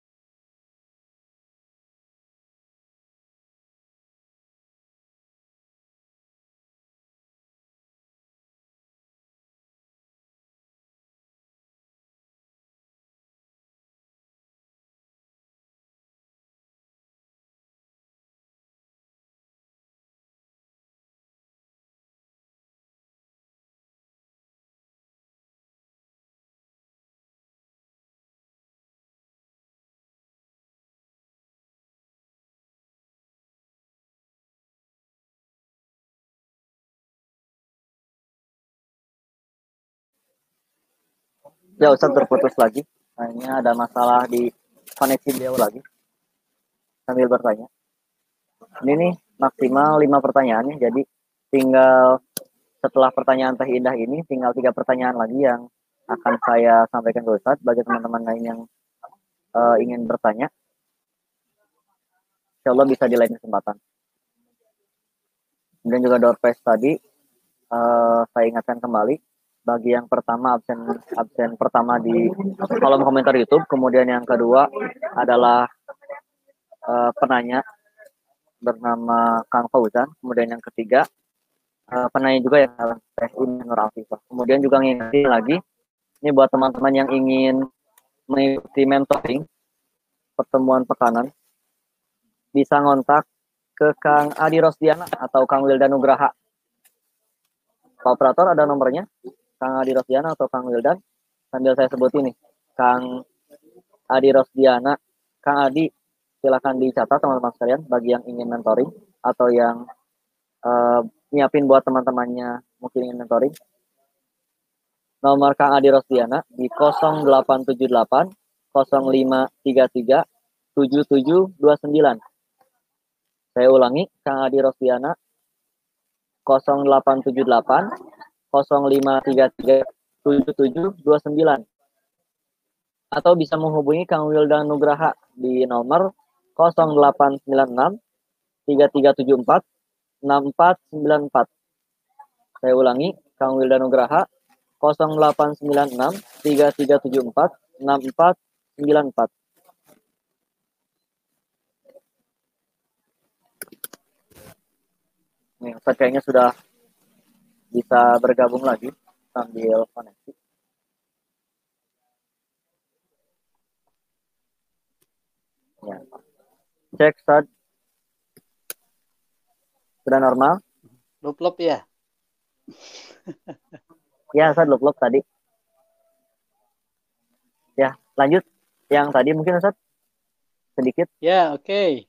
Ya Ustaz terputus lagi. Kayaknya ada masalah di koneksi beliau lagi. Sambil bertanya. Ini nih maksimal 5 pertanyaan nih. Jadi tinggal setelah pertanyaan Teh Indah ini tinggal 3 pertanyaan lagi yang akan saya sampaikan ke Ustaz bagi teman-teman lain yang ingin bertanya. Insya Allah bisa di lain kesempatan. Kemudian juga door prize tadi saya ingatkan kembali bagi yang pertama absen pertama di kolom komentar YouTube, kemudian yang kedua adalah penanya bernama Kang Fauzan, kemudian yang ketiga penanya juga yang adalah Teh Nur Afifah. Kemudian juga ngingetin lagi ini buat teman-teman yang ingin mengikuti mentoring pertemuan pekanan bisa ngontak ke Kang Adi Rosdiana atau Kang Wildan Nugraha. Pak operator ada nomornya, Kang Adi Rosdiana atau Kang Wildan. Sambil saya sebut ini, Kang Adi Rosdiana, Kang Adi, silakan dicatat teman-teman sekalian bagi yang ingin mentoring atau yang nyiapin buat teman-temannya mungkin ingin mentoring. Nomor Kang Adi Rosdiana di 0878 0533 7729. Saya ulangi, Kang Adi Rosdiana 0878 0533 7729. Atau bisa menghubungi Kang Wildan Nugraha di nomor 0896 3374 6494. Saya ulangi, Kang Wildan Nugraha 0896 3374 6494. Nih, Ustaz kayaknya sudah bisa bergabung lagi sambil koneksi. Ya. Cek Ustaz. Sudah normal? Lup-lup ya. Ya, Ustaz lup-lup tadi. Ya, lanjut. Yang tadi mungkin Ustaz sedikit. Ya, oke.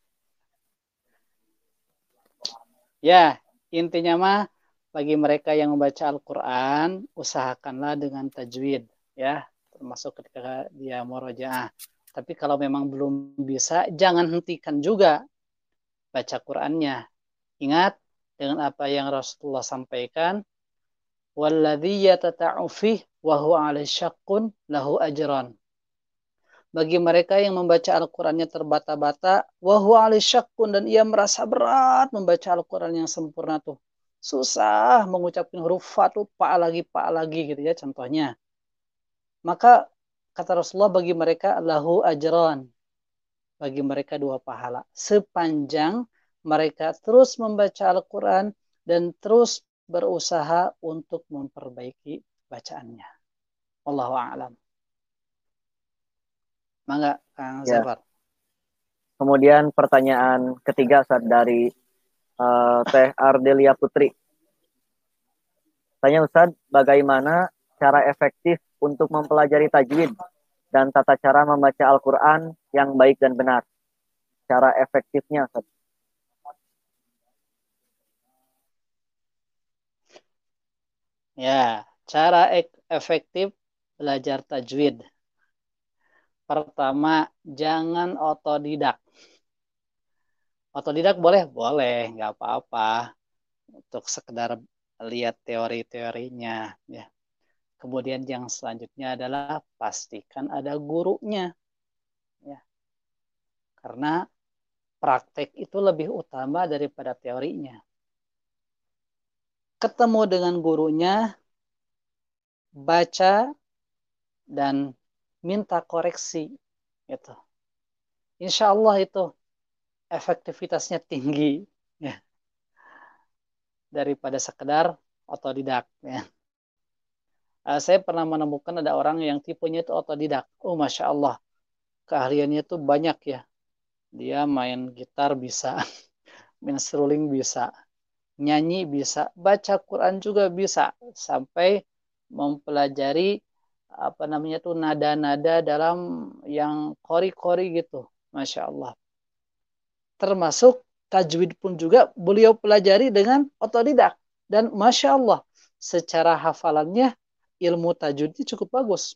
Ya, intinya mah bagi mereka yang membaca Al-Quran, usahakanlah dengan tajwid, ya, termasuk ketika dia murojaah. Tapi kalau memang belum bisa, jangan hentikan juga baca Qurannya. Ingat dengan apa yang Rasulullah sampaikan, "Walladzi yatata'u fih wa huwa 'alaihi syaqqun lahu ajran." Bagi mereka yang membaca Al-Qurannya terbata-bata, wa huwa 'alaihi syaqqun, dan ia merasa berat membaca Al-Quran yang sempurna tuh. Susah mengucapkan huruf fa tuh pa lagi gitu ya contohnya. Maka kata Rasulullah bagi mereka lahu ajran. Bagi mereka 2 pahala. Sepanjang mereka terus membaca Al-Quran dan terus berusaha untuk memperbaiki bacaannya. Wallahu a'lam. Mangga Kang Ya. Zafar. Kemudian pertanyaan ketiga Ustaz dari Teh Ardelia Putri. Tanya Ustaz, bagaimana cara efektif untuk mempelajari tajwid dan tata cara membaca Al-Quran yang baik dan benar? Cara efektifnya Ustaz. Ya, cara efektif belajar tajwid. Pertama, jangan otodidak. Otodidak boleh? Boleh, nggak apa-apa. Untuk sekedar lihat teori-teorinya. Ya. Kemudian yang selanjutnya adalah pastikan ada gurunya. Ya. Karena praktek itu lebih utama daripada teorinya. Ketemu dengan gurunya, baca, dan minta koreksi gitu. Insya Allah itu efektivitasnya tinggi ya, daripada sekedar otodidak ya. Saya pernah menemukan ada orang yang tipenya itu otodidak. Oh, Masya Allah, keahliannya itu banyak ya. Dia main gitar bisa, main seruling bisa, nyanyi bisa, baca Quran juga bisa, sampai mempelajari apa namanya tuh nada-nada dalam yang kori-kori gitu. Masya Allah. Termasuk tajwid pun juga beliau pelajari dengan otodidak. Dan Masya Allah, secara hafalannya ilmu tajwidnya cukup bagus.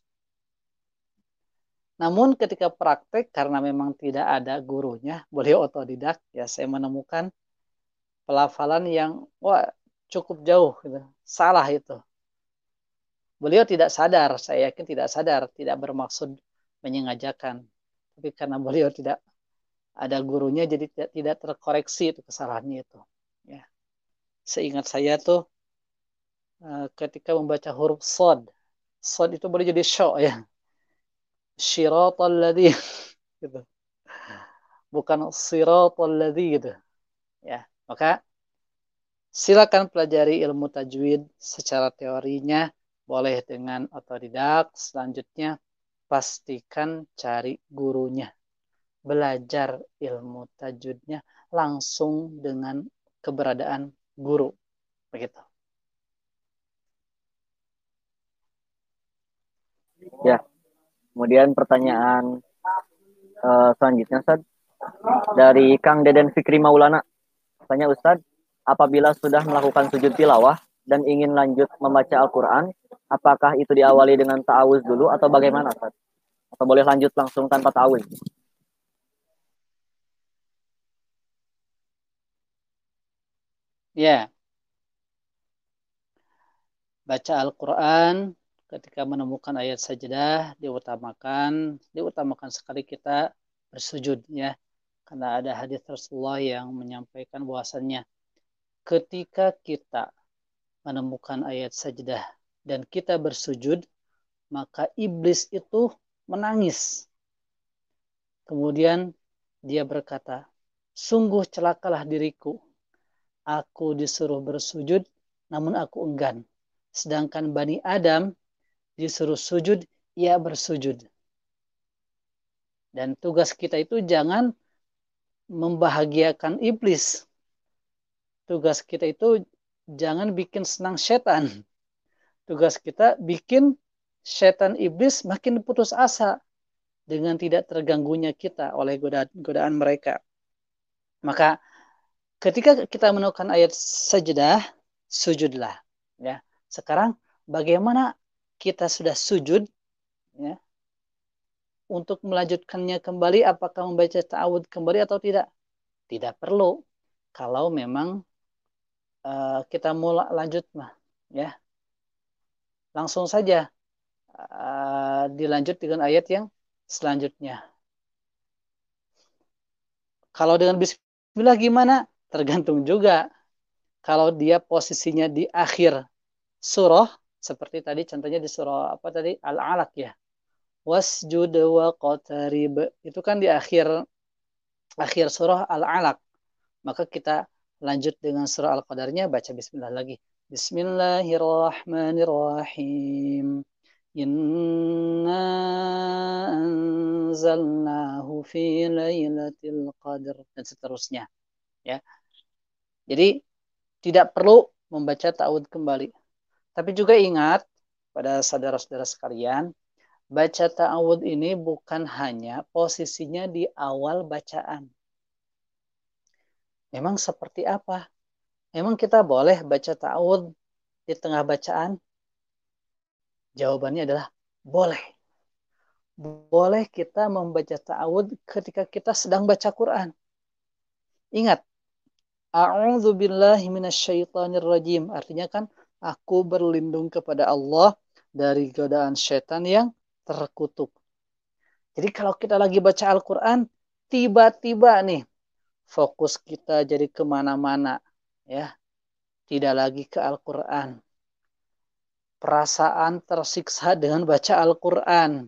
Namun ketika praktek, karena memang tidak ada gurunya, beliau otodidak, ya saya menemukan pelafalan yang wah cukup jauh, gitu. Salah itu. Beliau tidak sadar, saya yakin tidak sadar, tidak bermaksud menyengajakan. Tapi karena beliau tidak ada gurunya, jadi tidak terkoreksi itu kesalahannya itu. Ya. Seingat saya tuh ketika membaca huruf sod, sod itu boleh jadi syo ya, syiratal ladzi gitu, bukan siratal ladzi gitu. Ya, maka silakan pelajari ilmu tajwid secara teorinya, boleh dengan otodidak. Selanjutnya pastikan cari gurunya, belajar ilmu tajwidnya langsung dengan keberadaan guru, begitu. Ya, kemudian pertanyaan selanjutnya Ustaz dari Kang Deden Fikri Maulana. Tanya Ustaz, apabila sudah melakukan sujud tilawah dan ingin lanjut membaca Al-Quran, apakah itu diawali dengan ta'awuz dulu atau bagaimana Ustaz? Atau boleh lanjut langsung tanpa ta'awuz? Ya, baca Al-Quran ketika menemukan ayat sajadah diutamakan sekali kita bersujud ya, karena ada hadis Rasulullah yang menyampaikan bahwasannya ketika kita menemukan ayat sajadah dan kita bersujud, maka iblis itu menangis. Kemudian dia berkata, sungguh celakalah diriku, aku disuruh bersujud namun aku enggan, sedangkan Bani Adam disuruh sujud, ia bersujud. Dan tugas kita itu jangan membahagiakan iblis. Tugas kita itu jangan bikin senang setan. Tugas kita bikin setan iblis makin putus asa dengan tidak terganggunya kita oleh godaan mereka. Maka ketika kita menemukan ayat sajadah, sujudlah. Ya. Sekarang bagaimana kita sudah sujud, ya, untuk melanjutkannya kembali, apakah membaca ta'awud kembali atau tidak? Tidak perlu. Kalau memang kita mau lanjut mah, ya langsung saja dilanjut dengan ayat yang selanjutnya. Kalau dengan Bismillah gimana? Tergantung juga. Kalau dia posisinya di akhir surah, seperti tadi contohnya di surah apa tadi Al-Alaq ya, wasjud wa qatarib, itu kan di akhir surah Al-Alaq. Maka kita lanjut dengan surah Al-Qadarnya, baca Bismillah lagi. Bismillahirrahmanirrahim. Inna anzalnahu fi lailatul qadr, dan seterusnya. Ya. Jadi tidak perlu membaca ta'awud kembali. Tapi juga ingat pada saudara-saudara sekalian, baca ta'awud ini bukan hanya posisinya di awal bacaan. Memang seperti apa? Memang kita boleh baca ta'awud di tengah bacaan? Jawabannya adalah boleh. Boleh kita membaca ta'awud ketika kita sedang baca Quran. Ingat, a'udzu billahi minasyaitonir rajim. Artinya kan aku berlindung kepada Allah dari godaan setan yang terkutuk. Jadi kalau kita lagi baca Al-Quran, tiba-tiba nih fokus kita jadi kemana-mana, ya, tidak lagi ke Al-Quran. perasaan tersiksa dengan baca Al-Quran.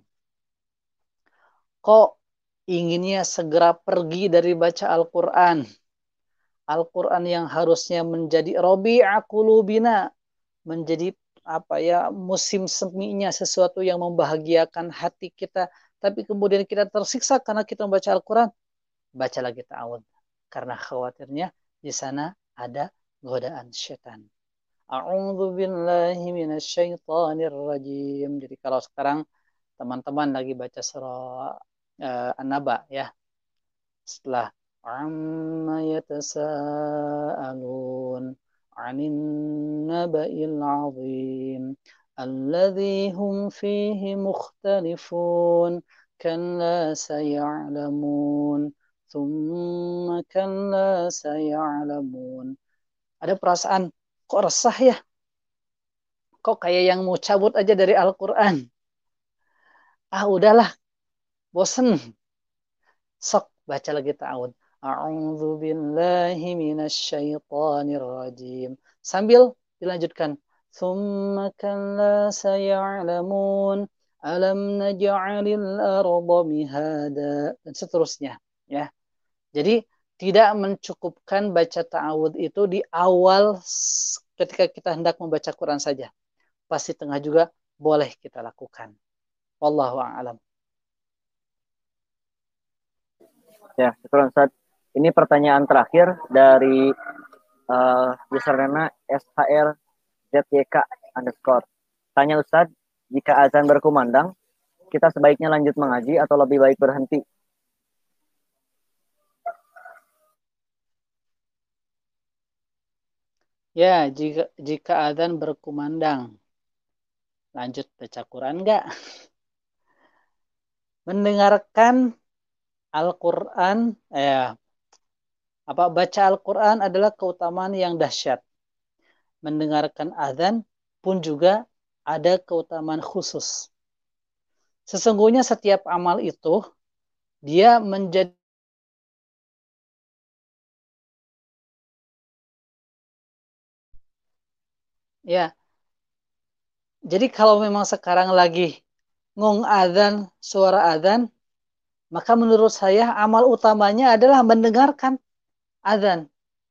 Kok inginnya segera pergi dari baca Al-Quran? Al-Quran yang harusnya menjadi Rabi'a qulubina, menjadi apa ya, musim seminya, sesuatu yang membahagiakan hati kita. Tapi kemudian kita tersiksa karena kita membaca Al-Quran. Baca lagi ta'awud. Karena khawatirnya di sana ada godaan syaitan. A'udzu billahi minasyaitonir rajim. Jadi kalau sekarang teman-teman lagi baca surah An-Naba ya, setelah amma yatasaalun 'anin naba'il 'azim alladzi hum fihi mukhtalifun kalla sayalamun thumma kalla sayalamun. Ada perasaan kok resah ya, kok kayak yang mau cabut aja dari Al-Quran. Udahlah, bosen. Sok baca lagi ta'awud. A'udzu billahi minasyaitonir rajim. Sambil dilanjutkan. Tsumma kalla saya'lamun alam naj'alil arda mihada, dan seterusnya ya. Jadi tidak mencukupkan baca ta'awud itu di awal ketika kita hendak membaca Quran saja. Pasti tengah juga boleh kita lakukan. Wallahu a'lam. Ya, syukur Ustaz. Ini pertanyaan terakhir dari username SHRZYK underscore. Tanya Ustaz, jika azan berkumandang, kita sebaiknya lanjut mengaji atau lebih baik berhenti? Ya, jika adzan berkumandang, lanjut baca Quran enggak? Mendengarkan Al-Quran, baca Al-Quran adalah keutamaan yang dahsyat. Mendengarkan adzan pun juga ada keutamaan khusus. Sesungguhnya setiap amal itu dia menjadi ya. Jadi kalau memang sekarang lagi ngong adzan, suara adzan, maka menurut saya amal utamanya adalah mendengarkan adzan.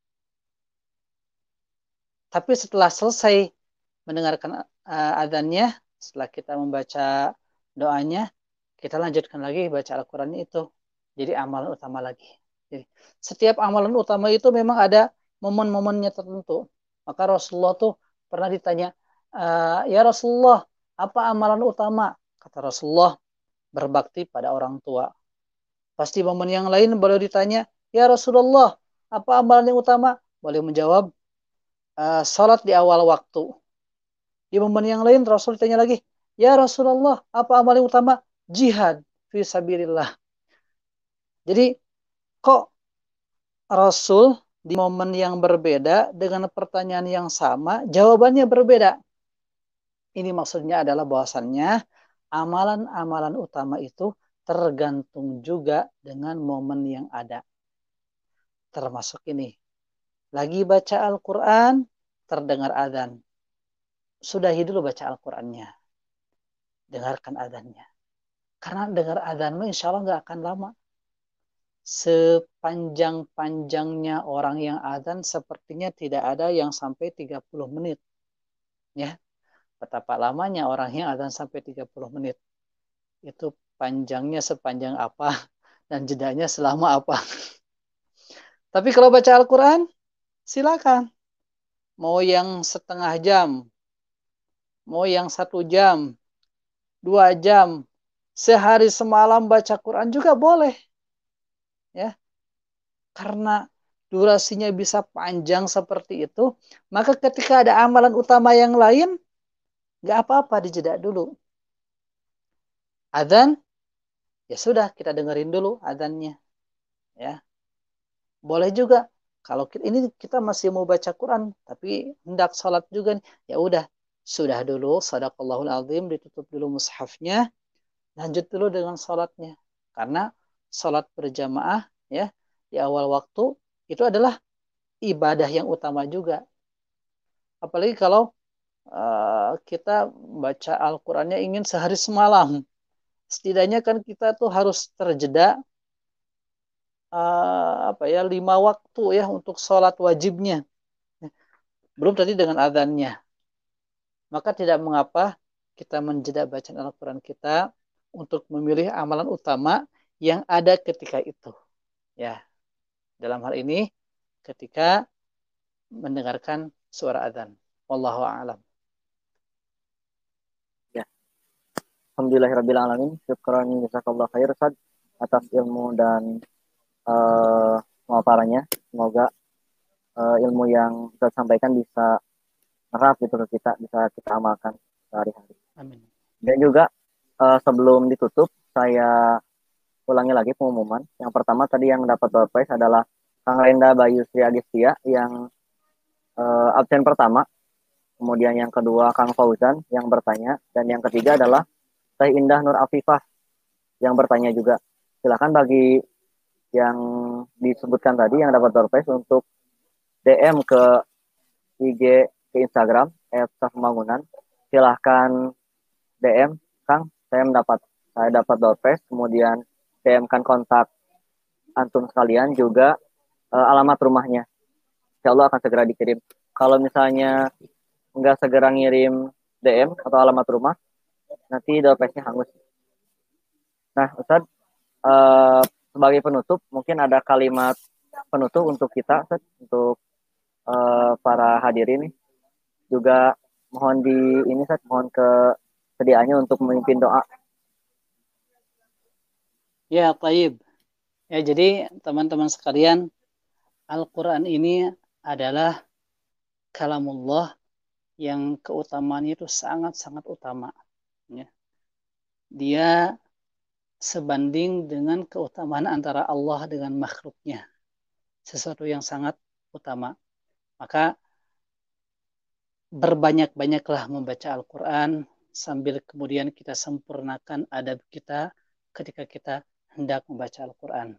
Tapi setelah selesai mendengarkan adzannya, setelah kita membaca doanya, kita lanjutkan lagi baca Al-Quran itu. Jadi amalan utama lagi. Jadi, setiap amalan utama itu memang ada momen-momennya tertentu. Maka Rasulullah tuh pernah ditanya, ya Rasulullah, apa amalan utama? Kata Rasulullah, berbakti pada orang tua. Pasti momen yang lain boleh ditanya, ya Rasulullah, apa amalan yang utama? Boleh menjawab, salat di awal waktu. Di momen yang lain Rasul ditanya lagi, ya Rasulullah, apa amal yang utama? Jihad fi sabilillah. Jadi kok Rasul di momen yang berbeda dengan pertanyaan yang sama, jawabannya berbeda. Ini maksudnya adalah bahwasannya amalan-amalan utama itu tergantung juga dengan momen yang ada. Termasuk ini. Lagi baca Al-Quran, terdengar adzan. Sudahi dulu baca Al-Qurannya. Dengarkan adzannya. Karena dengar adzan insya Allah nggak akan lama. Sepanjang-panjangnya orang yang adzan sepertinya tidak ada yang sampai 30 menit. Ya, betapa lamanya orang yang adzan sampai 30 menit. Itu panjangnya sepanjang apa dan jedanya selama apa. Tapi kalau baca Al-Quran, silakan. Mau yang setengah jam, mau yang 1 jam, 2 jam, sehari semalam baca Quran juga boleh. Ya, karena durasinya bisa panjang seperti itu, maka ketika ada amalan utama yang lain, nggak apa-apa dijeda dulu. Adzan, ya sudah kita dengerin dulu adzannya. Ya, boleh juga kalau ini kita masih mau baca Quran, tapi hendak sholat juga, ya udah sudah dulu, sadaqallahul azim, ditutup dulu mushafnya, lanjut dulu dengan sholatnya. Karena sholat berjamaah ya di awal waktu itu adalah ibadah yang utama juga. Apalagi kalau kita baca Al-Qur'annya ingin sehari semalam. Setidaknya kan kita tuh harus terjeda 5 waktu ya untuk sholat wajibnya. Belum tadi dengan adzannya. Maka tidak mengapa kita menjeda bacaan Al-Quran kita untuk memilih amalan utama yang ada ketika itu. Ya, dalam hal ini ketika mendengarkan suara adzan. Wallahu a'lam. Ya, alhamdulillahirabbil alamin. Syukran jazakallahu khair Ustaz atas ilmu dan pemaparannya. Semoga ilmu yang Ustaz sampaikan bisa nerap gitu ke kita, bisa kita amalkan sehari-hari. Amin. Dan juga sebelum ditutup, saya ulangi lagi pengumuman. Yang pertama tadi yang dapat door prize adalah Kang Renda Bayu Sri Agistia yang absen pertama. Kemudian yang kedua Kang Fauzan yang bertanya. Dan yang ketiga adalah Teh Indah Nur Afifah yang bertanya juga. Silakan bagi yang disebutkan tadi yang dapat door prize untuk DM ke IG ke Instagram @safpembangunan. Silahkan DM Kang, saya dapat door prize, kemudian DM-kan kontak antum sekalian juga alamat rumahnya. Insya Allah akan segera dikirim. Kalau misalnya nggak segera ngirim DM atau alamat rumah, nanti door prize-nya hangus. Nah, Ustadz, sebagai penutup, mungkin ada kalimat penutup untuk kita, Ustadz, untuk para hadirin nih. Juga mohon mohon kesediaannya untuk memimpin doa. Ya, taib. Ya, jadi teman-teman sekalian, Al-Quran ini adalah kalamullah yang keutamaannya itu sangat-sangat utama. Ya. Dia sebanding dengan keutamaan antara Allah dengan makhluknya. Sesuatu yang sangat utama. Maka berbanyak-banyaklah membaca Al-Quran sambil kemudian kita sempurnakan adab kita ketika kita hendak membaca Al-Quran.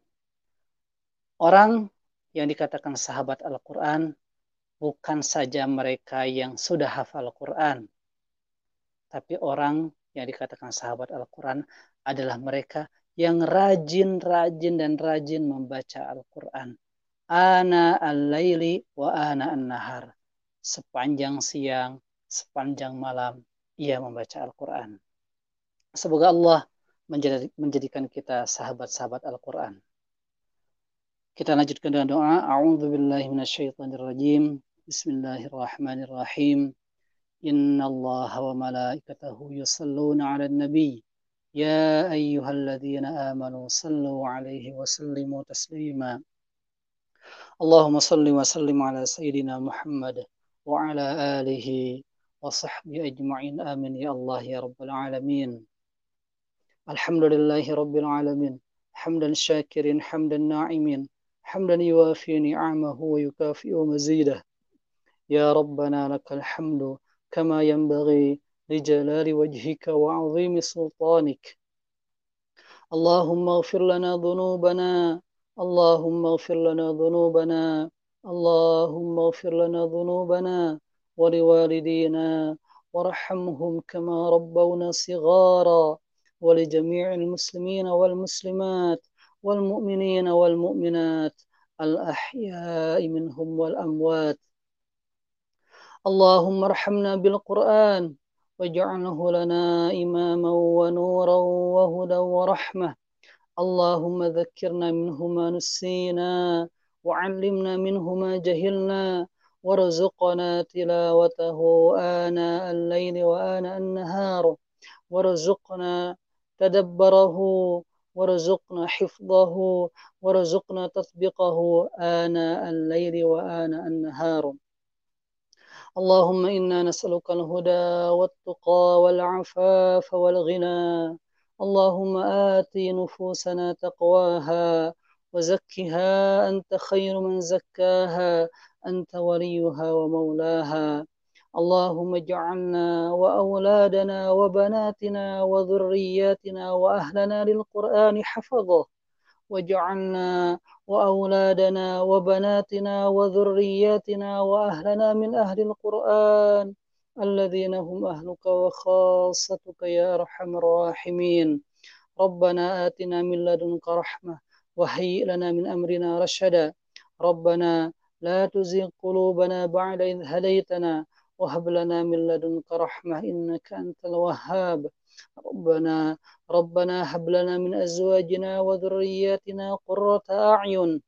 Orang yang dikatakan sahabat Al-Quran bukan saja mereka yang sudah hafal Al-Quran, tapi orang yang dikatakan sahabat Al-Quran adalah mereka yang rajin dan rajin membaca Al-Quran. Ana al-laili wa ana an-nahar. Sepanjang siang, sepanjang malam, ia membaca Al-Quran. Semoga Allah menjadikan kita sahabat-sahabat Al-Quran. Kita lanjutkan dengan doa. A'udzubillahi minasyaitonirrajim. Bismillahirrahmanirrahim. Inna Allah wa malaikatahu yusalluna 'alan nabi. Ya ayyuhalladzina amanu sallu 'alaihi wa sallimu taslima. Allahumma salli wa sallim ala sayyidina Muhammad wa ala alihi wa sahbihi ajma'in. Amin ya Allah ya rabbal alamin. Alhamdulillahi rabbil alamin. Hamdan syakirin, hamdan na'imin. حمدا يوافي نعمه ويكافئ مزيده يا ربنا لك الحمد كما ينبغي لجلال وجهك وعظيم سلطانك اللهم اغفر لنا ذنوبنا اللهم اغفر لنا ذنوبنا اللهم اغفر لنا ذنوبنا ولوالدينا وارحمهم كما ربونا صغارا ولجميع المسلمين والمسلمات والمؤمنين والمؤمنات الأحياء منهم والأموات اللهم ارحمنا بالقرآن واجعله لنا إماما ونورا وهدى ورحمة اللهم ذكرنا منه ما نسينا وعلمنا منه ما جهلنا وارزقنا تلاوته آناء الليل وآناء النهار وارزقنا تدبره وارزقنا حفظه وارزقنا تطبيقه آناء الليل وآناء النهار اللهم إنا نسألك الهدى والتقى والعفاف والغنى اللهم آت نفوسنا تقواها وزكها أنت خير من زكاها أنت وليها ومولاها اللهم اجعلنا وأولادنا وبناتنا وذرياتنا وأهلنا للقرآن حفظه واجعلنا وأولادنا وبناتنا وذرياتنا وأهلنا من أهل القرآن الذين هم أهلك وخاصتك يا أرحم الراحمين. ربنا آتنا من لدنك رحمة وهيئ لنا من أمرنا رشدا. ربنا لا تزغ قلوبنا بعد إذ هديتنا وهب لنا من لدنك رحمة إنك أنت الوهاب. ربنا هب لنا من أزواجنا وذرياتنا قرة أعين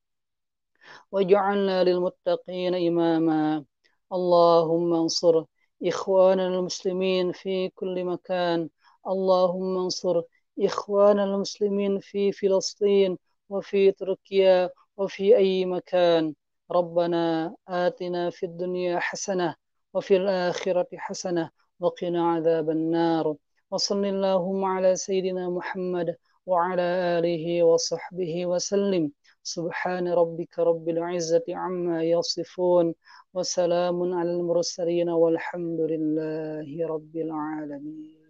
واجعلنا للمتقين إماما. اللهم انصر إخواننا المسلمين في كل مكان. اللهم انصر إخواننا المسلمين في فلسطين وفي تركيا وفي أي مكان. ربنا آتنا في الدنيا حسنة وفي الآخرة حسنة وقنا عذاب النار. وصل اللهم على سيدنا محمد وعلى آله وصحبه وسلم. سبحان ربك رب العزة عما يصفون وسلام على المرسلين والحمد لله رب العالمين.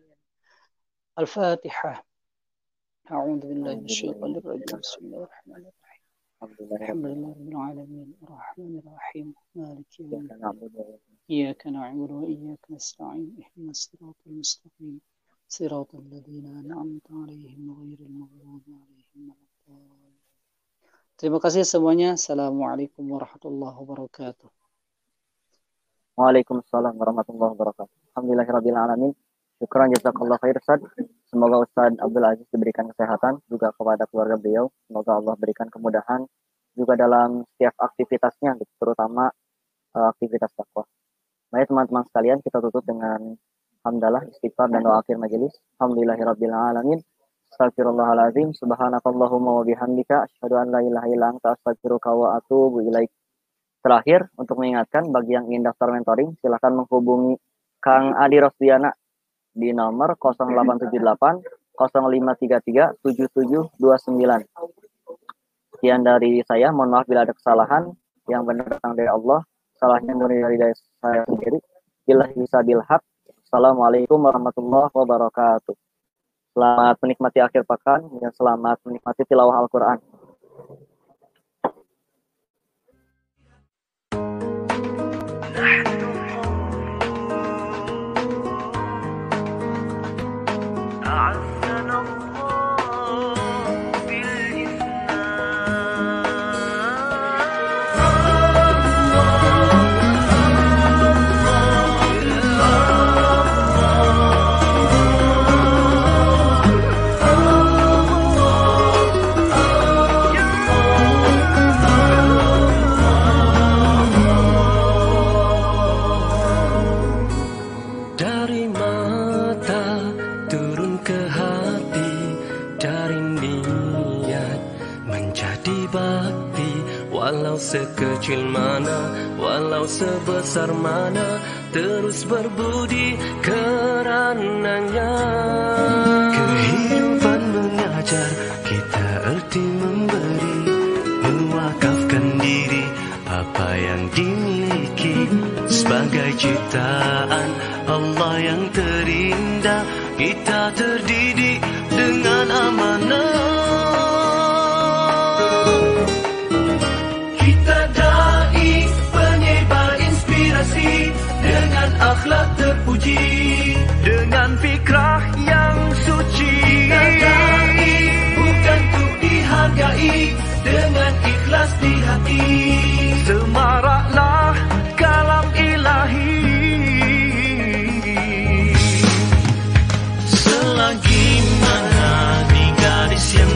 الفاتحة. أعوذ بالله من الشيطان الرجيم. بسم الله الرحمن الرحيم. الحمد لله رب العالمين الرحمن الرحيم مالك يوم الدين إياك نعبد وإياك نستعين اهدنا الصراط المستقيم صراط الذين أنعمت عليهم غير المغضوب عليهم ولا الضالين. Terima kasih semuanya. Assalamualaikum warahmatullahi wabarakatuh. Waalaikumsalam warahmatullahi wabarakatuh. Alhamdulillahirabbil alamin. Syukran jazakallahu khair Ustaz. Semoga Ustaz Abdul Aziz diberikan kesehatan juga kepada keluarga beliau. Semoga Allah berikan kemudahan juga dalam setiap aktivitasnya, terutama aktivitas dakwah. Baik teman-teman sekalian, kita tutup dengan hamdalah, istighfar dan doa akhir majelis. Alhamdulillahirabbil alamin. Astagfirullahaladzim, subhanakallahumma wa bihamdika, asyhadu an la ilaha illa anta, astaghfiruka wa atubu ilaik. Terakhir, untuk mengingatkan bagi yang ingin daftar mentoring, silakan menghubungi Kang Adi Rosdiana di nomor 0878 0533 7729. Sekian dari saya, mohon maaf bila ada kesalahan, yang benar datang dari Allah, salahnya murni dari saya sendiri. Billahi bisabil haq. Assalamualaikum warahmatullahi wabarakatuh. Selamat menikmati akhir pekan dan selamat menikmati tilawah Al-Quran. Sekecil mana, walau sebesar mana, terus berbudi karenanya. Kehidupan mengajar kita erti memberi, mewakafkan diri apa yang dimiliki sebagai ciptaan Allah yang terindah. Kita terdidik dengan amanah. Dengan akhlak terpuji, dengan fikrah yang suci. Kita dai bukan untuk dihargai, dengan ikhlas di hati. Semaraklah kalam ilahi. Selagi mana di garis yang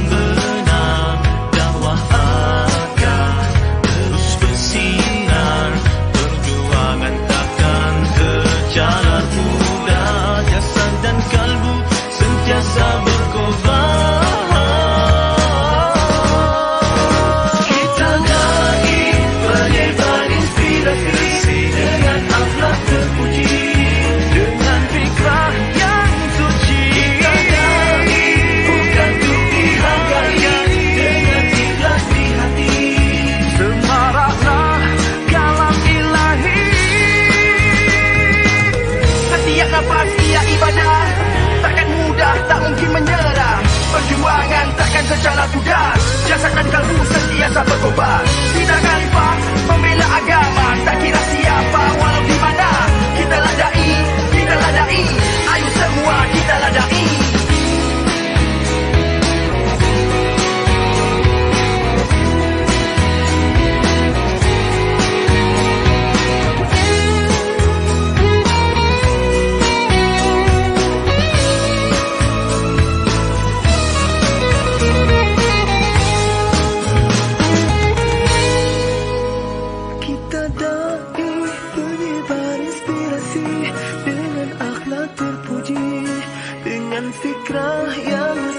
Kita dai penyebar inspirasi dengan akhlak terpuji, dengan fikrah yang